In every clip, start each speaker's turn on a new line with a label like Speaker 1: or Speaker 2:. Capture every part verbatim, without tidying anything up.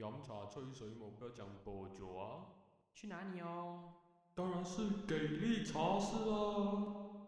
Speaker 1: 饮茶吹水冇不要讲多久啊？
Speaker 2: 去哪里哦？
Speaker 1: 当然是给力茶室啦！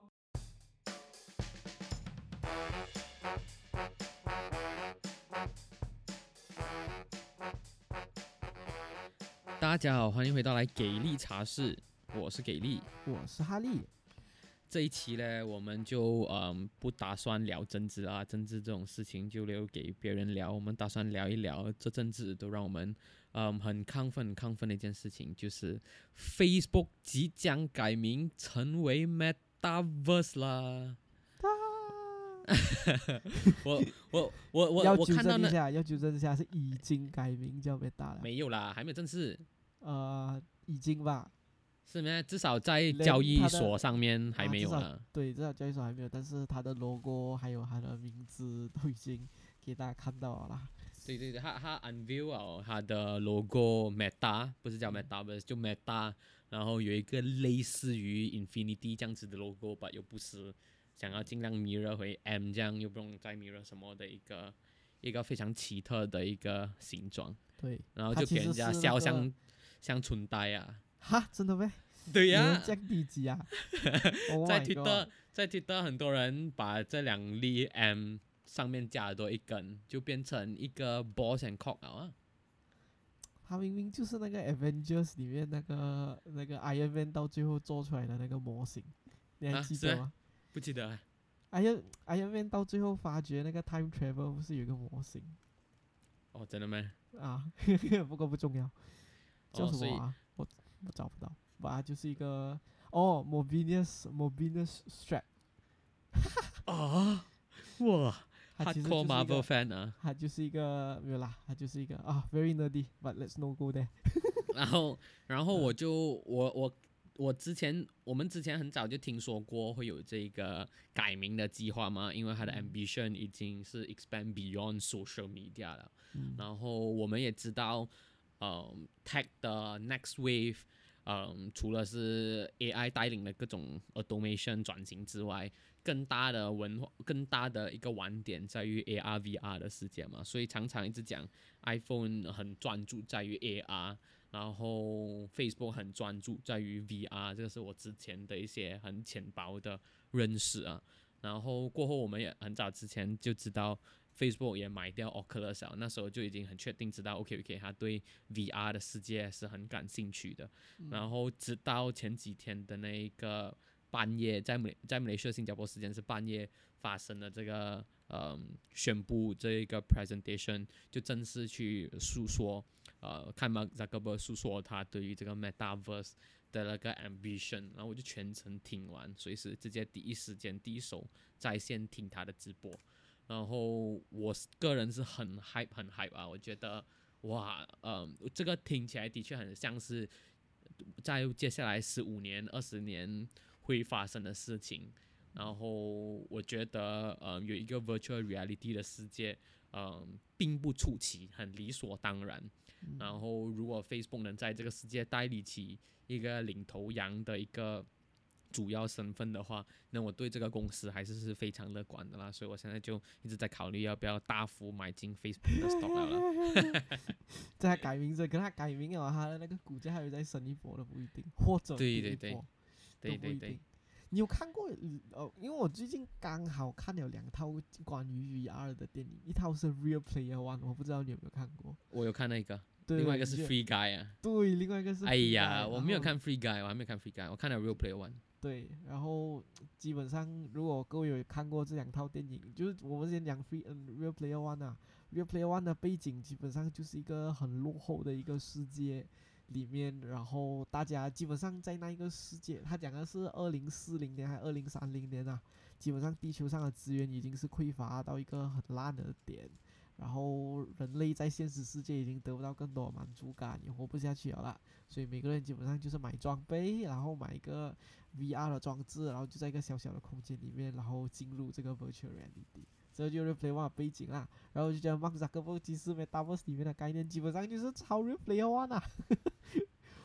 Speaker 2: 大家好，欢迎回到来给力茶室，我是给力，
Speaker 3: 我是哈利。
Speaker 2: 这一期呢，我们就嗯不打算聊政治啊，政治这种事情就留给别人聊。我们打算聊一聊这阵子都让我们嗯很亢奋、很亢奋的一件事情，就是 Facebook 即将改名成为 Metaverse 啦。我我我我
Speaker 3: 要纠
Speaker 2: 我看到那
Speaker 3: 正一下，要纠正一下，是已经改名叫 Meta 了。
Speaker 2: 没有啦，还没有正式，
Speaker 3: 呃，已经吧。
Speaker 2: 是吗？至少在
Speaker 3: 连
Speaker 2: 交易
Speaker 3: 它的
Speaker 2: 所上面还没有
Speaker 3: 啊、至少
Speaker 2: 啦。
Speaker 3: 对，至少交易所还没有，但是它的 logo 还有它的名字都已经给大家看到了啦。
Speaker 2: 对对对，他他 unveil 了他的 logo Meta， 不是叫 Meta， 就 Meta， 然后有一个类似于 Infinity 这样子的 logo 吧，又不是想要尽量 mirror 回 M 这样，又不用再 mirror 什么的一个一个非常奇特的一个形状，
Speaker 3: 对，
Speaker 2: 然后
Speaker 3: 它其实
Speaker 2: 就给人家
Speaker 3: 是那个
Speaker 2: 笑像像春呆啊。
Speaker 3: 哈，真的咩？
Speaker 2: 对呀、
Speaker 3: 有人降低级啊？Oh
Speaker 2: 在
Speaker 3: my
Speaker 2: Twitter
Speaker 3: god！
Speaker 2: 在 Twitter 很多人把这两粒 M 上面加了多一根，就变成一个 balls and cock 了啊。
Speaker 3: 他明明就是那个 Avengers 里面那个那个 Iron Man 到最后做出来的那个模型，你还
Speaker 2: 啊是啊
Speaker 3: 记得吗？
Speaker 2: 不记得啊。
Speaker 3: Iron Iron Man 到最后发觉那个 time travel 不是有一个模型
Speaker 2: 哦，真的吗？
Speaker 3: 啊？不过不重要，叫
Speaker 2: 哦，所以
Speaker 3: 什么啊？我我找不到，吧，就是一个哦，Mobius Mobius Strap，
Speaker 2: 啊，哇
Speaker 3: 它其实就是
Speaker 2: ，hardcore
Speaker 3: 一
Speaker 2: Marvel
Speaker 3: 个，
Speaker 2: fan 啊。
Speaker 3: 它就是一个没有啦，它就是一个啊，very nerdy，but let's not go there。
Speaker 2: 然后，然后我就我我我之前我们之前很早就听说过会有这个改名的计划嘛，因为它的 ambition 已经是 expand beyond social media 了。
Speaker 3: 嗯
Speaker 2: 然后我们也知道，嗯，tech 的 next wave，嗯，除了是 A I 带领的各种 automation 转型之外，更大的文化、更大的一个玩点在于 A R V R 的世界嘛，所以常常一直讲 iPhone 很专注在于 A R，然后 Facebook 很专注在于 V R，这个是我之前的一些很浅薄的认识啊。然后过后我们也很早之前就知道 Facebook 也买掉 Oculus 了，那时候就已经很确定知道 OK OK 他对 V R 的世界是很感兴趣的。然后直到前几天的那一个半夜，在美在马来西亚新加坡时间是半夜发生的这个嗯宣布这一个 presentation， 就正式去诉说呃看 Mark Zuckerberg 诉说他对于这个 Metaverse 的那个 ambition， 然后我就全程听完，所以是直接第一时间第一手在线听他的直播。然后我个人是很 hype 很 hype 啊，我觉得哇，嗯，这个听起来的确很像是在接下来十五年、二十年会发生的事情。然后我觉得，呃，有一个 virtual reality 的世界，嗯，并不出奇，很理所当然。然后，如果 Facebook 能在这个世界代理起一个领头羊的一个主要身份的话，那我对这个公司还是是非常乐观的啦。所以我现在就一直在考虑要不要大幅买进 Facebook 的 stock 了啦。
Speaker 3: 在他改名字，跟他改名了，他的那个股价还会再升一波都不一定，或者
Speaker 2: 对对对
Speaker 3: 跌一波
Speaker 2: 对对对
Speaker 3: 都不一定。你有看过呃？因为我最近刚好看了两套关于 V R 的电影，一套是 Real Player One， 我不知道你有没有看过。
Speaker 2: 我有看那个，
Speaker 3: 对，
Speaker 2: 另外一个是
Speaker 3: 你就
Speaker 2: Free Guy 啊。
Speaker 3: 对，另外一个是 Free
Speaker 2: 哎
Speaker 3: Guy，
Speaker 2: 呀，我没有
Speaker 3: 然后
Speaker 2: 看 Free Guy，我还没有看 Free Guy，我看了 Real Player One。
Speaker 3: 对，然后基本上如果各位有看过这两套电影，就是我们先讲 Free 嗯 Real Player One 啊，Real Player One 的背景基本上就是一个很落后的一个世界里面，然后大家基本上在那一个世界，他讲的是二零四零年还是二零三零年啊，基本上地球上的资源已经是匮乏到一个很烂的点。然后人类在现实世界已经得不到更多的满足感，也活不下去了啦，所以每个人基本上就是买装备，然后买一个 V R 的装置，然后就在一个小小的空间里面，然后进入这个 virtual reality， 这就是 Real Player One 的背景啦。然后就觉得 Mark Zuckerberg 其实 Metaverse 里面的概念基本上就是超 Real Player One 啊。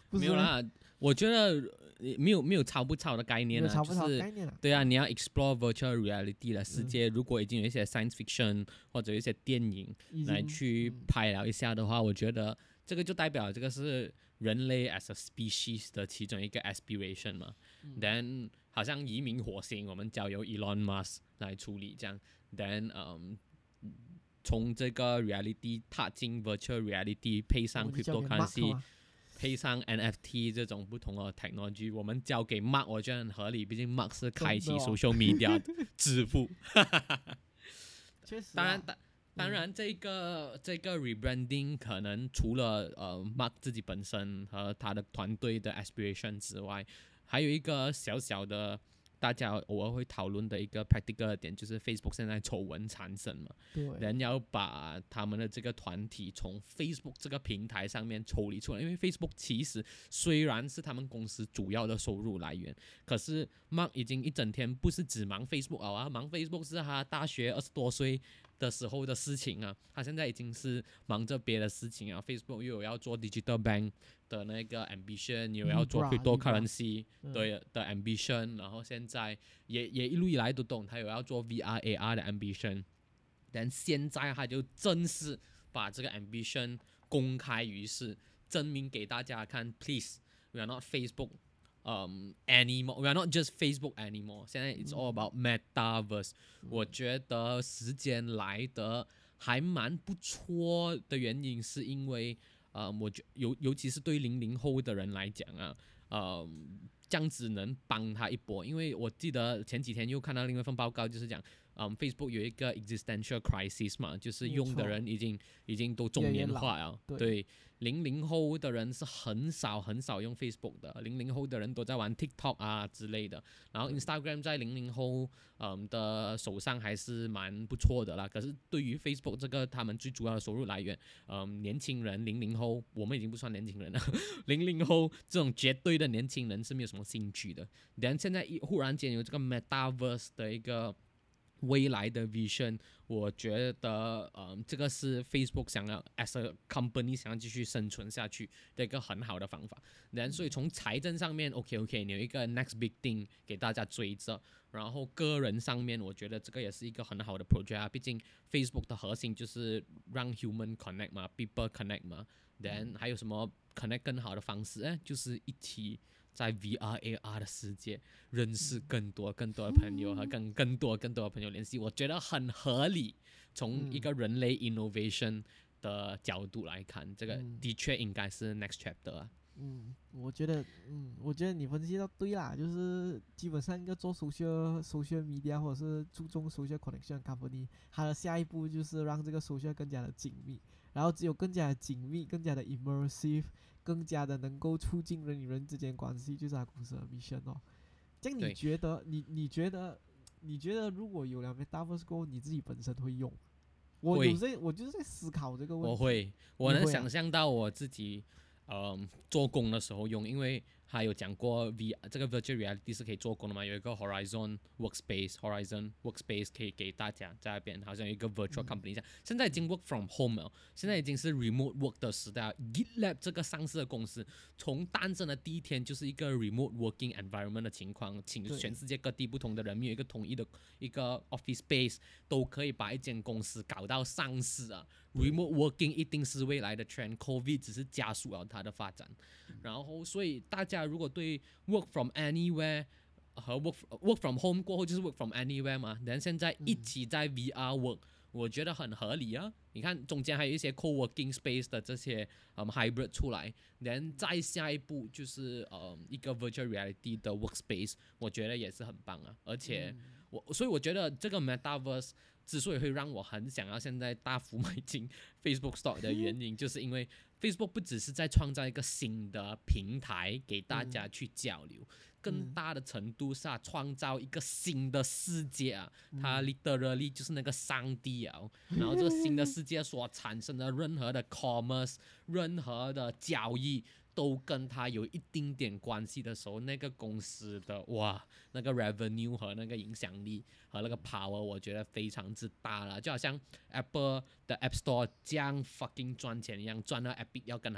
Speaker 3: 不是吗？
Speaker 2: 没有啦，我觉得没有没有抄不抄的概
Speaker 3: 没
Speaker 2: 念啊，
Speaker 3: 有抄不抄
Speaker 2: 就是
Speaker 3: 概念啊？
Speaker 2: 对啊，你要 explore virtual reality 的世
Speaker 3: 嗯
Speaker 2: 界，如果已经有一些 science fiction 或者有一些电影来
Speaker 3: 已经
Speaker 2: 去
Speaker 3: 嗯
Speaker 2: 拍了一下的话，我觉得这个就代表这个是人类 as a species 的其中一个 aspiration 嘛。
Speaker 3: 嗯
Speaker 2: Then 好像移民火星，我们交由 Elon Musk 来处理这样。Then 嗯，从这个 reality 踏进 virtual reality，配上
Speaker 3: 我就交给 Mark
Speaker 2: cryptocurrency，
Speaker 3: 嘛
Speaker 2: 配上 N F T 这种不同的 technology，我们交给 Mark，我觉得很合理，毕竟 Mark 是开启
Speaker 3: 真的哦
Speaker 2: social media 的支付。
Speaker 3: 确实啊，
Speaker 2: 当然，当当
Speaker 3: 嗯
Speaker 2: 然，这个这个 rebranding 可能除了呃 Mark 自己本身和他的团队的 aspiration 之外，还有一个小小的大家偶尔会讨论的一个 practical 的点，就是 Facebook 现在丑闻缠身嘛，
Speaker 3: 对，
Speaker 2: 人要把他们的这个团体从 Facebook 这个平台上面抽离出来，因为 Facebook 其实虽然是他们公司主要的收入来源，可是 Mark 已经一整天不是只忙 Facebook 了啊，忙 Facebook 是他大学二十多岁的时候的事情啊，他现在已经是忙着别的事情啊。Facebook 又有要做 digital bank 的那个 ambition， 又有要做
Speaker 3: Libra，
Speaker 2: cryptocurrency
Speaker 3: 嗯
Speaker 2: 对的 ambition，然后现在也也一路以来都懂，他有要做 V R A R 的 ambition， 但现在他就正式把这个 ambition 公开于世，证明给大家看 ，please we are not Facebook。Um, anymore, we are not just Facebook anymore. 现在 it's all about metaverse、嗯。我觉得时间来得还蛮不错的原因，是因为，呃，我觉尤尤其是对零零后的人来讲啊，呃，这样子能帮他一波。因为我记得前几天又看到另外一份报告，就是讲，嗯 ，Facebook 有一个 existential crisis 嘛，就是用的人已经已经都中年化了，
Speaker 3: 对。
Speaker 2: 对零零后的人是很少很少用 Facebook 的，零零后的人都在玩 TikTok 啊之类的，然后 Instagram 在零零后嗯的手上还是蛮不错的啦。可是对于 Facebook 这个他们最主要的收入来源，嗯，年轻人零零后，我们已经不算年轻人了，零零后这种绝对的年轻人是没有什么兴趣的。但现在一忽然间有这个 Metaverse 的一个未来的 vision， 我觉得，嗯，这个是 Facebook 想要 as a company 想要继续生存下去的一个很好的方法。然所以从财政上面 ，OK OK， 你有一个 next big thing 给大家追着。然后个人上面，我觉得这个也是一个很好的 project 啊。毕竟 Facebook 的核心就是让 human connect 嘛 ，people connect 嘛。Then 还有什么 connect 更好的方式？哎，就是一起在 V R A R 的世界认识更多更多的朋友和更更多更多的朋友联系，我觉得很合理。从一个人类 innovation 的角度来看，这个的确应该是 next chapter 啊。
Speaker 3: 嗯，我觉得，嗯，我觉得你分析的对啦，就是基本上一个做 social social media 或者是注重 social connection company， 它的下一步就是让这个 social 更加的紧密，然后只有更加的紧密、更加的 immersive， 更加的能够促进人与人之间关系，就是它公司的 mission 哦。这样你觉得，你你觉得，你觉得如果有了 Metaverse 过后，你自己本身会用？我有在，我就是在思考这个问题。
Speaker 2: 我会，我能
Speaker 3: 啊
Speaker 2: 想象到我自己。嗯，做工的时候用，因为他有讲过 V 这个 virtual reality 是可以做工的嘛，有一个 Horizon Workspace，Horizon Workspace 可以给大家在那边，好像有一个 virtual company 这样。现在已经 work from home 了，现在已经是 remote work 的时代了。GitLab 这个上市的公司，从诞生的第一天就是一个 remote working environment 的情况，请全世界各地不同的人民有一个统一的一个 office space， 都可以把一间公司搞到上市啊。Remote working 一定是未来的 trend，COVID 只是加速了它的发展。然后，所以大家如果对 work from anywhere 和 work work from home 过后就是 work from anywhere 嘛，然后现在一起在 V R work，、嗯、我觉得很合理啊。你看中间还有一些 co-working space 的这些嗯 hybrid 出来，然后再下一步就是呃一个 virtual reality 的 workspace， 我觉得也是很棒啊。而且我所以我觉得这个 metaverse之所以会让我很想要现在大幅买进 Facebook Stock 的原因，就是因为 Facebook 不只是在创造一个新的平台给大家去交流，更大的程度是创造一个新的世界啊，它 literally 就是那个上帝啊。然后这个新的世界所产生的任何的 commerce， 任何的交易，都跟它有一丁点关系的时候，那个公司的哇，那个 revenue 和那个影响力和那个 power， 我觉得非常之大了。就好像 Apple 的 App Store 这样 fucking 赚钱一样，赚到 Epic 要跟他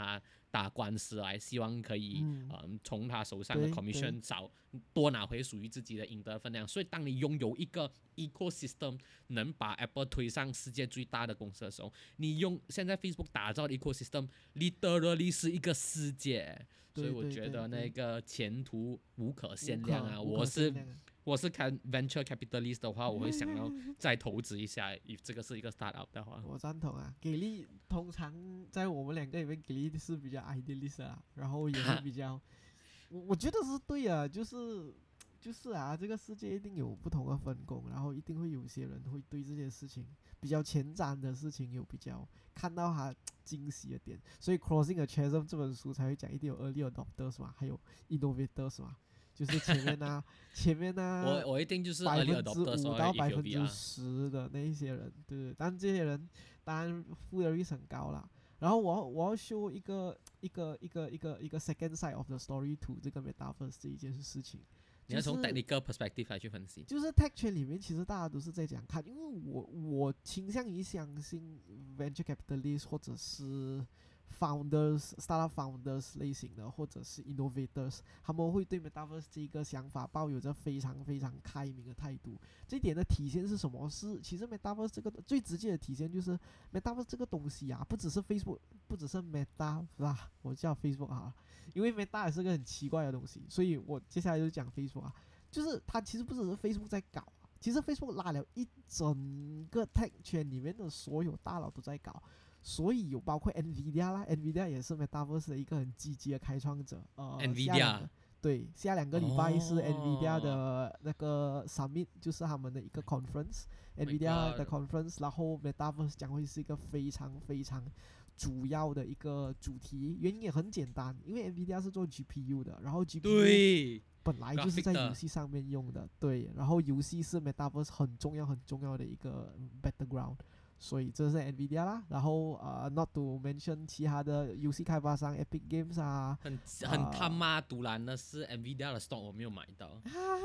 Speaker 2: 打官司来，希望可以
Speaker 3: 嗯
Speaker 2: 呃从他手上的
Speaker 3: 对
Speaker 2: commission 少多拿回属于自己的应得分量。所以当你拥有一个 ecosystem 能把 Apple 推上世界最大的公司的时候，你用现在 Facebook 打造的 ecosystem literally 是一个世界。所以我觉得那个前途无可限量啊！我是我是看 venture capitalist 的话，我会想要再投资一下。if 这个是一个 startup 的话，
Speaker 3: 我赞同啊。给力通常在我们两个里面，给力是比较 idealist 啊，然后也是比较，我我觉得是对啊，就是就是啊，这个世界一定有不同的分工，然后一定会有些人会对这件事情比较前瞻的事情有比较看到他惊喜的点，所以 Crossing the Chasm 这本书才会讲一定有 early adopters 嘛，还有 innovators 嘛，就是前面呢、啊，前面呢、啊，
Speaker 2: 我我一定就是
Speaker 3: 百
Speaker 2: early
Speaker 3: 分之
Speaker 2: adopters
Speaker 3: 五
Speaker 2: or
Speaker 3: 到
Speaker 2: if
Speaker 3: 百
Speaker 2: you'll
Speaker 3: 分
Speaker 2: be
Speaker 3: 之
Speaker 2: 啊，
Speaker 3: 十的那一些人，对，但这些人当然付的率很高啦。然后我要我要 show 一个一个一个一个一个 second side of the story to 这个 metaverse 这一件事情。
Speaker 2: 你要从 technical perspective 来去分析。
Speaker 3: 就是 tech 圈里面，其实大家都是在讲看，因为我我倾向于相信 venture capitalist 或者是 founders startup founders 类型的，或者是 innovators， 他们会对 metaverse 这个想法抱有着非常非常开明的态度。这一点的体现是什么？是其实 metaverse 这个最直接的体现就是 metaverse 这个东西啊，不只是 Facebook， 不只是 meta 啦，我叫 Facebook 好了。因为 Meta 也是个很奇怪的东西，所以我接下来就讲 Facebook 啊，就是它其实不只是 Facebook 在搞，其实 Facebook 拉了一整个 Tech 圈里面的所有大佬都在搞，所以有包括 Nvidia 啦 ，Nvidia 也是 Metaverse 的一个很积极的开创者。呃
Speaker 2: Nvidia
Speaker 3: 对，下两个礼拜是
Speaker 2: 哦
Speaker 3: Nvidia 的那个 Summit， 就是他们的一个 conference，Nvidia 的 conference， 然后 Metaverse 将会是一个非常非常主要的一个主题。原因也很简单，因为 Nvidia 是做 G P U 的，然后 G P U
Speaker 2: 对
Speaker 3: 本来就是在游戏上面用的，对，然后游戏是 Metaverse 很重要很重要的一个 background， 所以这是 Nvidia 啦。然后呃 ，not to mention 其他的游戏开发商 Epic Games 啊，
Speaker 2: 很很他妈独蓝的是 Nvidia 的 stock 我没有买到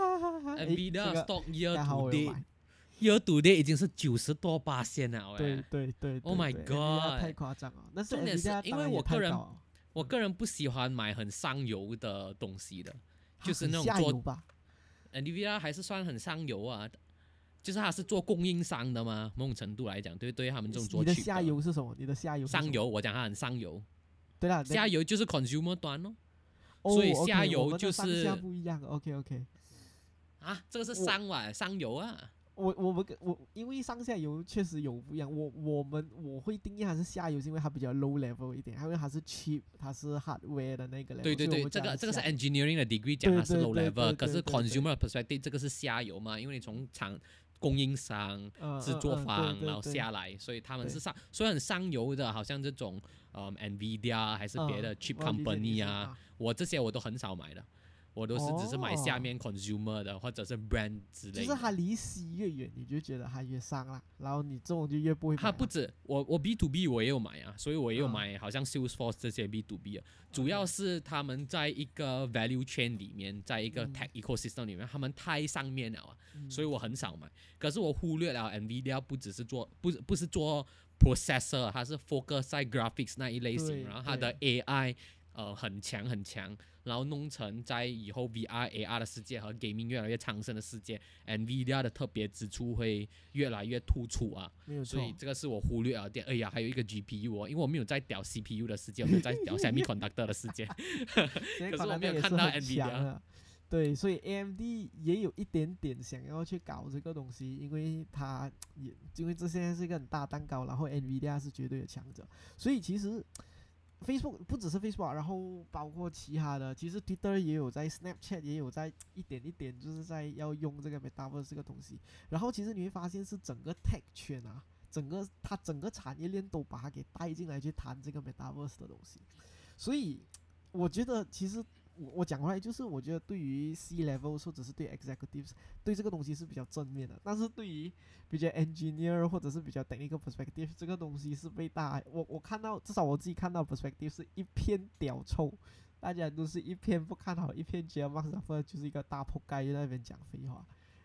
Speaker 2: ，Nvidia 的 stock year to date year to date 已经是九十多巴仙了，
Speaker 3: 对对对
Speaker 2: ，Oh my god，
Speaker 3: 太夸张了。但是
Speaker 2: 重点是
Speaker 3: Nvidia
Speaker 2: 因为我个人
Speaker 3: 当然也太高了
Speaker 2: 我个人不喜欢买很上游的东西的，
Speaker 3: 它
Speaker 2: 就是
Speaker 3: 很
Speaker 2: 那种做
Speaker 3: 下游吧。
Speaker 2: Nvidia 还是算很上游啊，就是它是做供应商的嘛，某种程度来讲，对对他们这种做
Speaker 3: 你的
Speaker 2: chip
Speaker 3: 下游是什么？你的下游是什么
Speaker 2: 上游，我讲它很上游，
Speaker 3: 对啦，
Speaker 2: 下游就是 consumer 端哦，
Speaker 3: 哦
Speaker 2: 所以
Speaker 3: OK，
Speaker 2: 下游
Speaker 3: 我们的
Speaker 2: 就是
Speaker 3: 上下不一样。OK OK，
Speaker 2: 啊，这个是商哇，上游啊。
Speaker 3: 我我们我因为上下游确实有不一样，我我们我会定义它是下游，是因为它比较 low level 一点，因为它是 cheap， 它是 hardware 的那个 level。
Speaker 2: 对对对，这个这个是 engineering 的 degree 讲它是 low level，可是 consumer perspective 这个是下游嘛，因为你从厂供应商、制作方然后下来，所以他们是上，虽然很上游的，好像这种嗯 Nvidia 还是别的 chip company 啊，我这些我都很少买的。我都是只是买下面 consumer 的，或者是 brand 之类的。
Speaker 3: 就是它离 C 越远，你就觉得它越上啦，然后你这种就越不会买。
Speaker 2: 它不止我我 B to B 我也有买啊，所以我也有买，好像 Salesforce 这些 B to B 啊，主要是他们在一个 value chain 里面，在一个 tech ecosystem 里面，他们太上面了啊，所以我很少买。可是我忽略了 Nvidia 不只是做不不是做 processor， 它是 focus 在 graphics 那一类型，然后它的 A I 呃很强很强。然后弄成在以后 V R、A R 的世界和 gaming 越来越昌盛的世界 ，Nvidia 的特别之处会越来越突出啊。
Speaker 3: 没有错。
Speaker 2: 所以这个是我忽略了点。哎呀，还有一个 G P U 哦，因为我没有在屌 C P U 的世界，我没有在屌 semiconductor 的世界。可是我没有看到 Nvidia。
Speaker 3: 对，所以 A M D 也有一点点想要去搞这个东西，因为它也因为这现在是一个很大蛋糕，然后 Nvidia 是绝对的强者，所以其实。Facebook 不只是 Facebook， 然后包括其他的，其实 Twitter 也有在 ，Snapchat 也有在一点一点就是在要用这个 Metaverse 这个东西。然后其实你会发现是整个 Tech 圈啊，整个它整个产业链都把它给带进来去谈这个 Metaverse 的东西。所以我觉得其实我我讲回来就是，我觉得对于 C level 或者是对 executives 对这个东西是比较正面的，但是对于比较 engineer 或者是比较 technical perspective 这个东西是被大我我看到至少我自己看到 perspective 是一片屌臭，大家都是一片不看好，一片觉得 Mark Zuckerberg 就是一个大扑街在那边讲废话。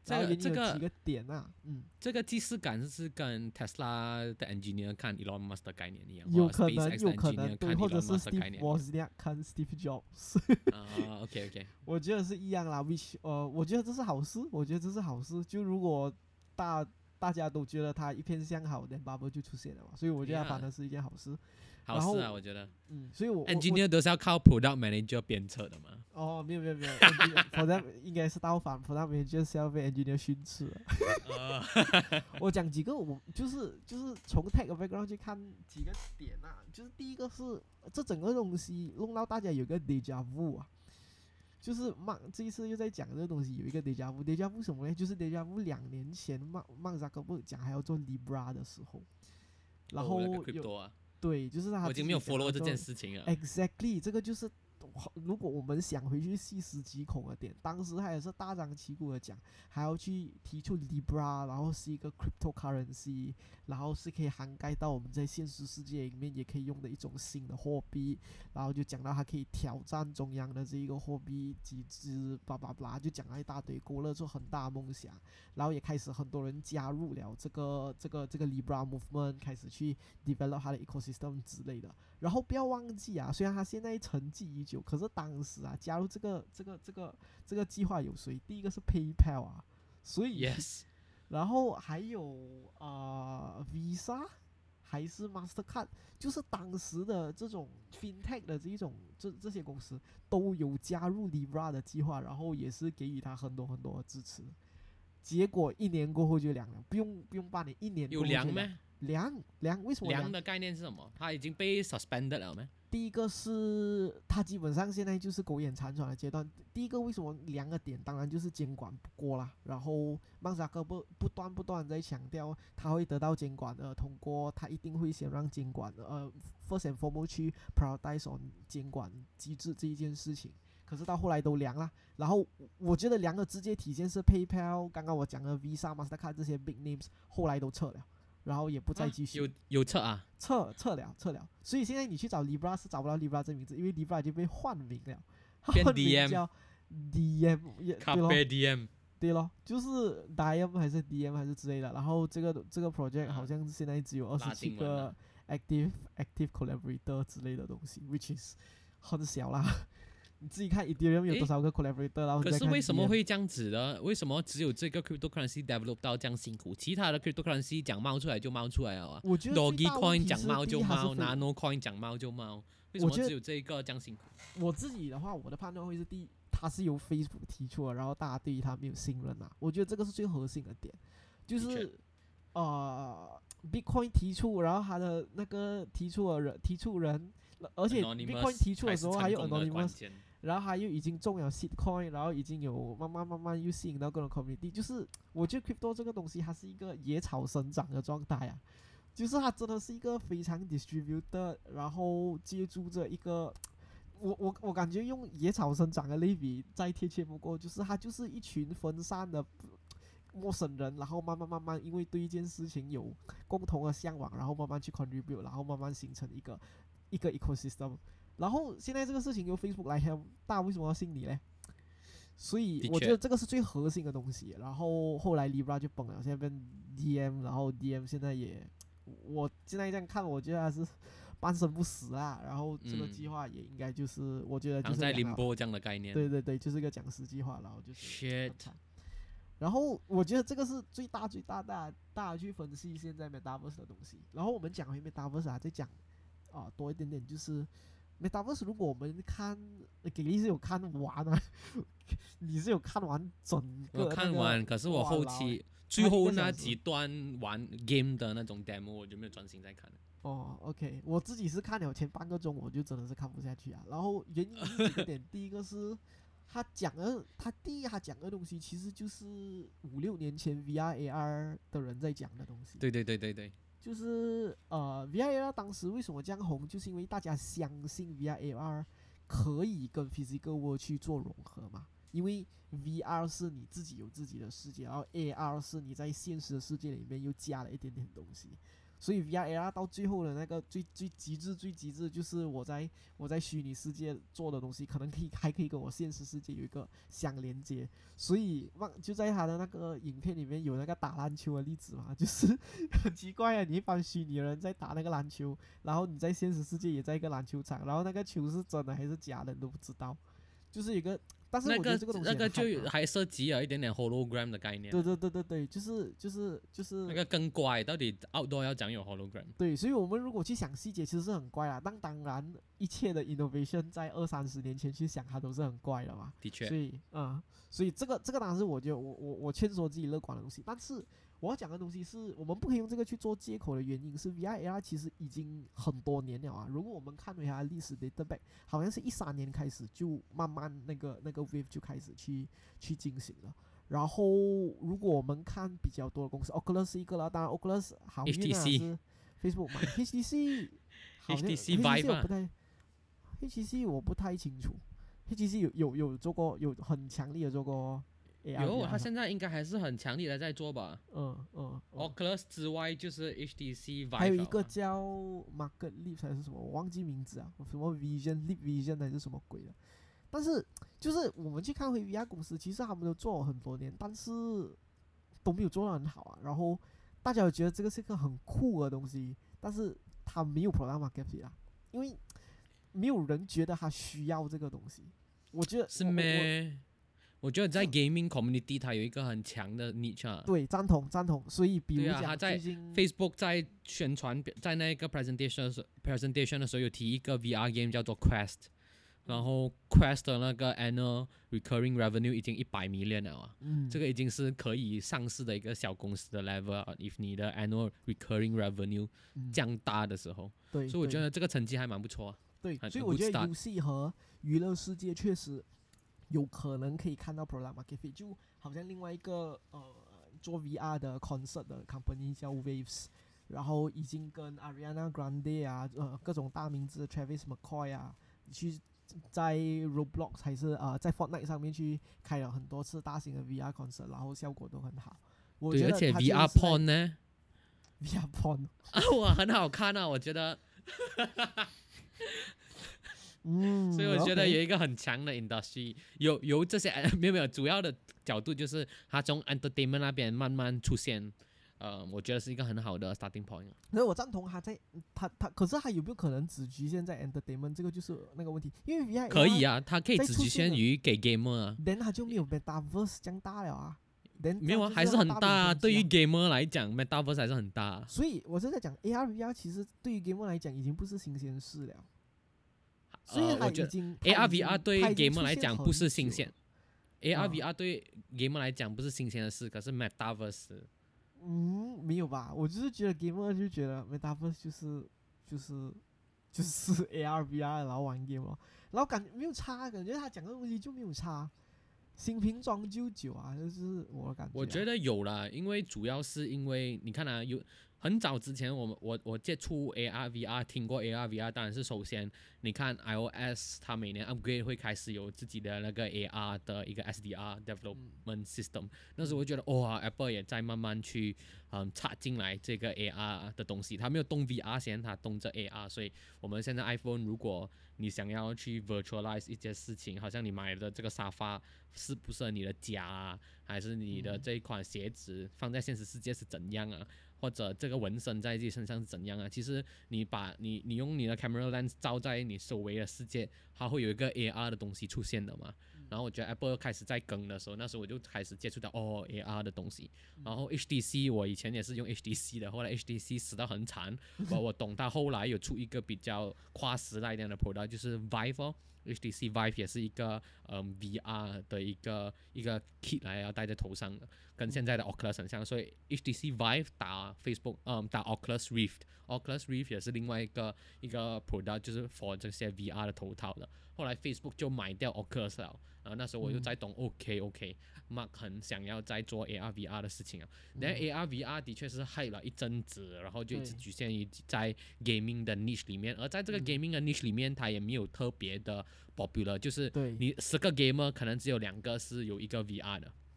Speaker 3: 然后原因
Speaker 2: 这个这个
Speaker 3: 有几个点啊，嗯，
Speaker 2: 这个既视感是跟 Tesla 的 engineer 看 Elon Musk 的概念一样，
Speaker 3: 有
Speaker 2: 或者
Speaker 3: 可能
Speaker 2: SpaceX 的
Speaker 3: 有可
Speaker 2: engineer
Speaker 3: 能对，
Speaker 2: 看
Speaker 3: 或者
Speaker 2: Elon
Speaker 3: 是
Speaker 2: Musk 的概
Speaker 3: Steve
Speaker 2: 念一样。
Speaker 3: Wozniak 看 Steve Jobs，
Speaker 2: 啊，OK OK，
Speaker 3: 我觉得是一样啦。which 呃，我觉得这是好事，我觉得这是好事。就如果大大家都觉得它一片向好，then bubble 就出现了嘛，所以我觉得它
Speaker 2: Yeah
Speaker 3: 反而是一件好事。
Speaker 2: 好
Speaker 3: 然后
Speaker 2: 事啊，我觉得
Speaker 3: 嗯，所以我我我
Speaker 2: engineer 都是要靠 product manager 鞭策的嘛。
Speaker 3: 哦，没有没有没有，engineer for them 应该是倒反，for them 就是要被 engineer 训斥了。
Speaker 2: 啊
Speaker 3: 我讲几个，我就是就是从 tech background 去看几个点啊，就是第一个是这整个东西弄到大家有个 deja vu 啊，就是曼这一次又在讲这个东西有一个 deja vu，deja vu 什么呢？就是 deja vu 两年前曼曼扎克伯讲还要做 Libra 的时候，然后
Speaker 2: 哦那个
Speaker 3: 有
Speaker 2: crypto 啊，
Speaker 3: 对，就是他
Speaker 2: 我已经没有
Speaker 3: 自己讲
Speaker 2: follow
Speaker 3: 要做
Speaker 2: 这件事情了。
Speaker 3: Exactly，这个就是如果我们想回去细思极恐的点，当时他也是大张旗鼓的讲，还要去提出 Libra， 然后是一个 cryptocurrency， 然后是可以涵盖到我们在现实世界里面也可以用的一种新的货币，然后就讲到它可以挑战中央的这一个货币机制，叭叭叭，就讲了一大堆，勾勒出很大的梦想，然后也开始很多人加入了这个这个这个 Libra movement， 开始去 develop 它的 ecosystem 之类的。然后不要忘记啊，虽然他现在沉寂已久，可是当时啊，加入这个这个这个这个计划有谁？第一个是 PayPal 啊，所以
Speaker 2: Yes，
Speaker 3: 然后还有呃 Visa 还是 Mastercard， 就是当时的这种 FinTech 的这一种这这些公司都有加入 Libra 的计划，然后也是给予他很多很多的支持。结果一年过后就凉了，不用不用半年，一年过
Speaker 2: 有
Speaker 3: 后就凉
Speaker 2: 凉咩？
Speaker 3: 凉凉，为什么凉
Speaker 2: 凉？的概念是什么？它已经被 suspended 了没？
Speaker 3: 第一个是它基本上现在就是苟延残喘的阶段。第一个为什么两个点，当然就是监管不过啦。然后曼扎克不不断不断在强调他会得到监管的通过，他一定会先让监管呃 first and foremost 去 prioritize on 监管机制这一件事情。可是到后来都凉了，然后我觉得凉的直接体现是 PayPal， 刚刚我讲的 Visa、Mastercard 这些 big names 后来都撤了。然后也不再继续，
Speaker 2: 有有测啊，
Speaker 3: 撤撤了撤了，所以现在你去找 Libra 是找不到 Libra 这名字，因为 Libra 已经被换名了，
Speaker 2: 变
Speaker 3: 换名
Speaker 2: D M
Speaker 3: 叫 D M， 也对咯
Speaker 2: Carpe Diem，
Speaker 3: 对咯，就是 D M 还是 D M 还是之类的。然后这个这个 project
Speaker 2: 啊
Speaker 3: 好像现在只有二十
Speaker 2: 拉
Speaker 3: 七个
Speaker 2: 丁文啊
Speaker 3: active active collaborator 之类的东西，which is 很小啦。你自己看 Ethereum 有多少个 collaborator，然后
Speaker 2: 可是为什么
Speaker 3: D M
Speaker 2: 会这样子呢？为什么只有这个 cryptocurrency develop 到这样辛苦？其他的 cryptocurrency 讲冒出来就冒出来了啊
Speaker 3: 我觉得最
Speaker 2: ，Doge
Speaker 3: 大问
Speaker 2: Coin
Speaker 3: 题是
Speaker 2: 讲冒就
Speaker 3: 第一它是
Speaker 2: 冒
Speaker 3: 非
Speaker 2: ，Nano Coin 讲冒就冒，为什么
Speaker 3: 我觉得
Speaker 2: 只有这一个这样辛苦？
Speaker 3: 我自己的话，我的判断会是第一，它是由 Facebook 提出的，然后大家对于它没有信任啊。我觉得这个是最核心的点，就
Speaker 2: 的确
Speaker 3: 是呃，Bitcoin 提出，然后他的那个提出的人提出人，而且 Bitcoin 提出的时候还有 Anonymous，然后他又已经中了 Seedcoin，然后已经有慢慢慢慢又吸引到各种 community，就是我觉得 crypto 这个东西它是一个野草生长的状态啊。就是它真的是一个非常 distributed， 然后借助着一个，我我我感觉用野草生长的类比再贴切不过，就是它就是一群分散的陌生人，然后慢慢慢慢因为对一件事情有共同的向往，然后慢慢去 contribute， 然后慢慢形成一个一个 ecosystem。然后现在这个事情由 Facebook 来 help， 大家为什么要信你呢？所以我觉得这个是最核心的东西。然后后来 Libra 就崩了，现在变 D M， 然后 D M 现在也。我现在这样看，我觉得还是半生不死啊。然后这个计划也应该就是，嗯、我觉得就是
Speaker 2: 在凌波这样的概念。
Speaker 3: 对对对，就是一个讲师计划，然后就是。
Speaker 2: Shit。
Speaker 3: 然后我觉得这个是最大最大大大家去分析现在 Metaverse 的东西。然后我们讲回 Metaverse 啊，再讲啊多一点点，就是 Metaverse 如果我们看，给力是有看完啊，你是有看完整个、那个？
Speaker 2: 我看完，可是我后期。最后那几段玩 game 的那种 demo 我就没有专心在看了。
Speaker 3: 哦 ，OK， 我自己是看了前半个钟，我就真的是看不下去啊。然后原因是几个点，第一个是他讲的，他第一他讲的东西其实就是五六年前 V R A R 的人在讲的东西。
Speaker 2: 对对对对对。
Speaker 3: 就是呃 V R A R 当时为什么这样红，就是因为大家相信 V R A R 可以跟 physical world 去做融合嘛。因为 V R 是你自己有自己的世界，然后 A R 是你在现实的世界里面又加了一点点东西， 所以 V R A R 到最后的那个最最极致最极致，就是我在我在虚拟世界做的东西，可能可以还可以跟我现实世界有一个相连接。所以忘就在他的那个影片里面有那个打篮球的例子嘛，就是很奇怪啊，你一般虚拟的人在打那个篮球，然后你在现实世界也在一个篮球场，然后那个球是真的还是假的你都不知道，就是有一个。但是我觉
Speaker 2: 那个
Speaker 3: 得这个东西
Speaker 2: 那个就
Speaker 3: 很hype 啊
Speaker 2: 还涉及了一点点 hologram 的概念。
Speaker 3: 对对对对对，就是就是就是
Speaker 2: 那个更怪，到底 outdoor 要讲有 hologram？
Speaker 3: 对，所以我们如果去想细节，其实是很怪啦。但当然，一切的 innovation 在二三十年前去想，它都是很怪的嘛。
Speaker 2: 的确
Speaker 3: 所，以，嗯，所以这个这个当然是我觉得我我我劝说自己乐观的东西。但是我要讲的东西是我们不可以用这个去做借口的原因是 V R A R 其实已经很多年了啊。如果我们看回它的历史 data back，好像是一三年开始就慢慢那个那个 wave 就开始去去进行了。然后，如果我们看比较多的公司，Oculus 是一个啦，当然 Oculus 好运啊
Speaker 2: H T C
Speaker 3: 是 Facebook 买 H T C 好像
Speaker 2: H T C
Speaker 3: H T C
Speaker 2: Vive
Speaker 3: 我不太 H T C 我不太清楚，H T C 有有有做过有很强力的做过 A R，
Speaker 2: 有，他现在应该还是很强力的在做吧。
Speaker 3: 嗯嗯嗯
Speaker 2: Oculus 之外就是 H T C Vive，
Speaker 3: 还有一个
Speaker 2: 了啊
Speaker 3: 叫 Market Leap 还是什么，我忘记名字啊，什么 Vision Leap Vision 还是什么鬼的。但是就是我们去看回 V R 公司，其实他们都做了很多年，但是都没有做得很好啊。然后大家有觉得这个是一个很酷的东西，但是它没有 product market fit 啊，因为没有人觉得他需要这个东西。我觉得
Speaker 2: 是
Speaker 3: 我我我
Speaker 2: 咩？我觉得在 gaming community 它有一个很强的 niche 啊。
Speaker 3: 对赞同赞同。所以比如
Speaker 2: 对啊，他
Speaker 3: 讲
Speaker 2: 在
Speaker 3: 最近
Speaker 2: Facebook 在宣传，在那个 presentation 的时候 presentation 的时候有提一个 V R game 叫做 Quest，然后 Quest 的那个 annual recurring revenue 已经一百 million 了啊，
Speaker 3: 嗯
Speaker 2: 这个已经是可以上市的一个小公司的 level 啊。if 你的 annual recurring revenue
Speaker 3: 嗯
Speaker 2: 降大的时候，
Speaker 3: 对，对
Speaker 2: 所以我觉得这个成绩还蛮不错啊。
Speaker 3: 对，
Speaker 2: 很很
Speaker 3: 所以我
Speaker 2: good
Speaker 3: 觉得
Speaker 2: start
Speaker 3: 游戏和娱乐世界确实有可能可以看到 product market fit，就好像另外一个呃做 V R 的 concert 的 company 叫 Waves，然后已经跟 Ariana Grande 啊呃各种大名字 Travis McCoy 啊去在 Roblox 还是呃在 Fortnite 上面去开了很多次大型的 V R concert，然后效果都很好。我
Speaker 2: 对，
Speaker 3: 觉
Speaker 2: 而且
Speaker 3: 得它
Speaker 2: V
Speaker 3: 其
Speaker 2: R
Speaker 3: 实是在
Speaker 2: porn 呢，
Speaker 3: V R porn，
Speaker 2: 啊，哇，很好看啊，我觉得。
Speaker 3: 嗯，
Speaker 2: 所以我觉得
Speaker 3: OK
Speaker 2: 有一个很强的 industry，有由这些没有没有主要的角度就是它从 entertainment 那边慢慢出现，呃，我觉得是一个很好的 starting point。
Speaker 3: 可是我赞同他在他他，可是他有没有可能只局限在 entertainment 这个就是那个问题，因为 V R
Speaker 2: 可以啊，它可以只局
Speaker 3: 在出现了
Speaker 2: 限于给 gamer 啊，
Speaker 3: ，then 他就没有 metaverse 这样大了啊，then
Speaker 2: 没有啊，
Speaker 3: 这样
Speaker 2: 还是
Speaker 3: 就是要
Speaker 2: 很大啊。对于
Speaker 3: 大名东西啊
Speaker 2: gamer 来讲，metaverse 还是很大啊。
Speaker 3: 所以我是在讲 A R V R 其实对于 gamer 来讲已经不是新鲜事了，所以
Speaker 2: 呃，
Speaker 3: 他已
Speaker 2: 我觉得
Speaker 3: 经
Speaker 2: A R
Speaker 3: 他已
Speaker 2: V R
Speaker 3: 经
Speaker 2: 对
Speaker 3: 他已经
Speaker 2: gamer
Speaker 3: 出现很
Speaker 2: 来讲不是
Speaker 3: 久
Speaker 2: 新鲜
Speaker 3: 了
Speaker 2: ，A R
Speaker 3: 啊
Speaker 2: V R 对 gamer 来讲不是新鲜的事，可是 metaverse
Speaker 3: 嗯，没有吧？我就是觉得 gamer 就觉得 metaverse 就是就是就是 A R V R 然后玩 game 咯，然后感觉没有差，感觉他讲的东西就没有差，新瓶装旧酒啊，就是我的感觉啊、
Speaker 2: 我觉得有啦，因为主要是因为你看啊，有很早之前我们我我接触 A R V R， 听过 A R V R， 当然是首先你看 iOS 它每年 upgrade 会开始有自己的那个 A R 的一个 S D R development system，、那时候我觉得哇、哦、，Apple 也在慢慢去嗯插进来这个 A R 的东西，它没有动 V R 先，它动着 A R， 所以我们现在 iPhone 如果你想要去 virtualize 一些事情，好像你买的这个沙发适不适合你的家啊，还是你的这一款鞋子放在现实世界是怎样啊，或者这个纹身在自己身上是怎样啊？其实你把你你用你的 camera lens 照在你周围的世界，它会有一个 A R 的东西出现的嘛。然后我觉得 Apple 开始在更的时候，那时候我就开始接触到哦 A R 的东西。然后 H T C 我以前也是用 H T C 的，后来 H T C 死到很惨，我我懂它后来有出一个比较跨时代一点的 product， 就是 Vive 哦。H T C Vive 也是一个嗯 V R 的一个一个 kit 来要戴在头上的，跟现在的 Oculus 很像，所以 H T C Vive 打 Facebook， 嗯打 Oculus Rift，Oculus Rift 也是另外一个一个 product， 就是 for 这些 V R 的头套的。后来 Facebook 就买掉 Oculus 了，然后那时候我就在懂、嗯、OK OK，Mark 很想要在做 A R V R 的事情啊。那、嗯、A R V R 的确是 hype 了一阵子，然后就一直局限于在 gaming 的 niche 里面，而在这个 gaming 的 niche 里面，它也没有特别的 popular， 就是你十个 gamer 可能只有两个是有一个 V R 的。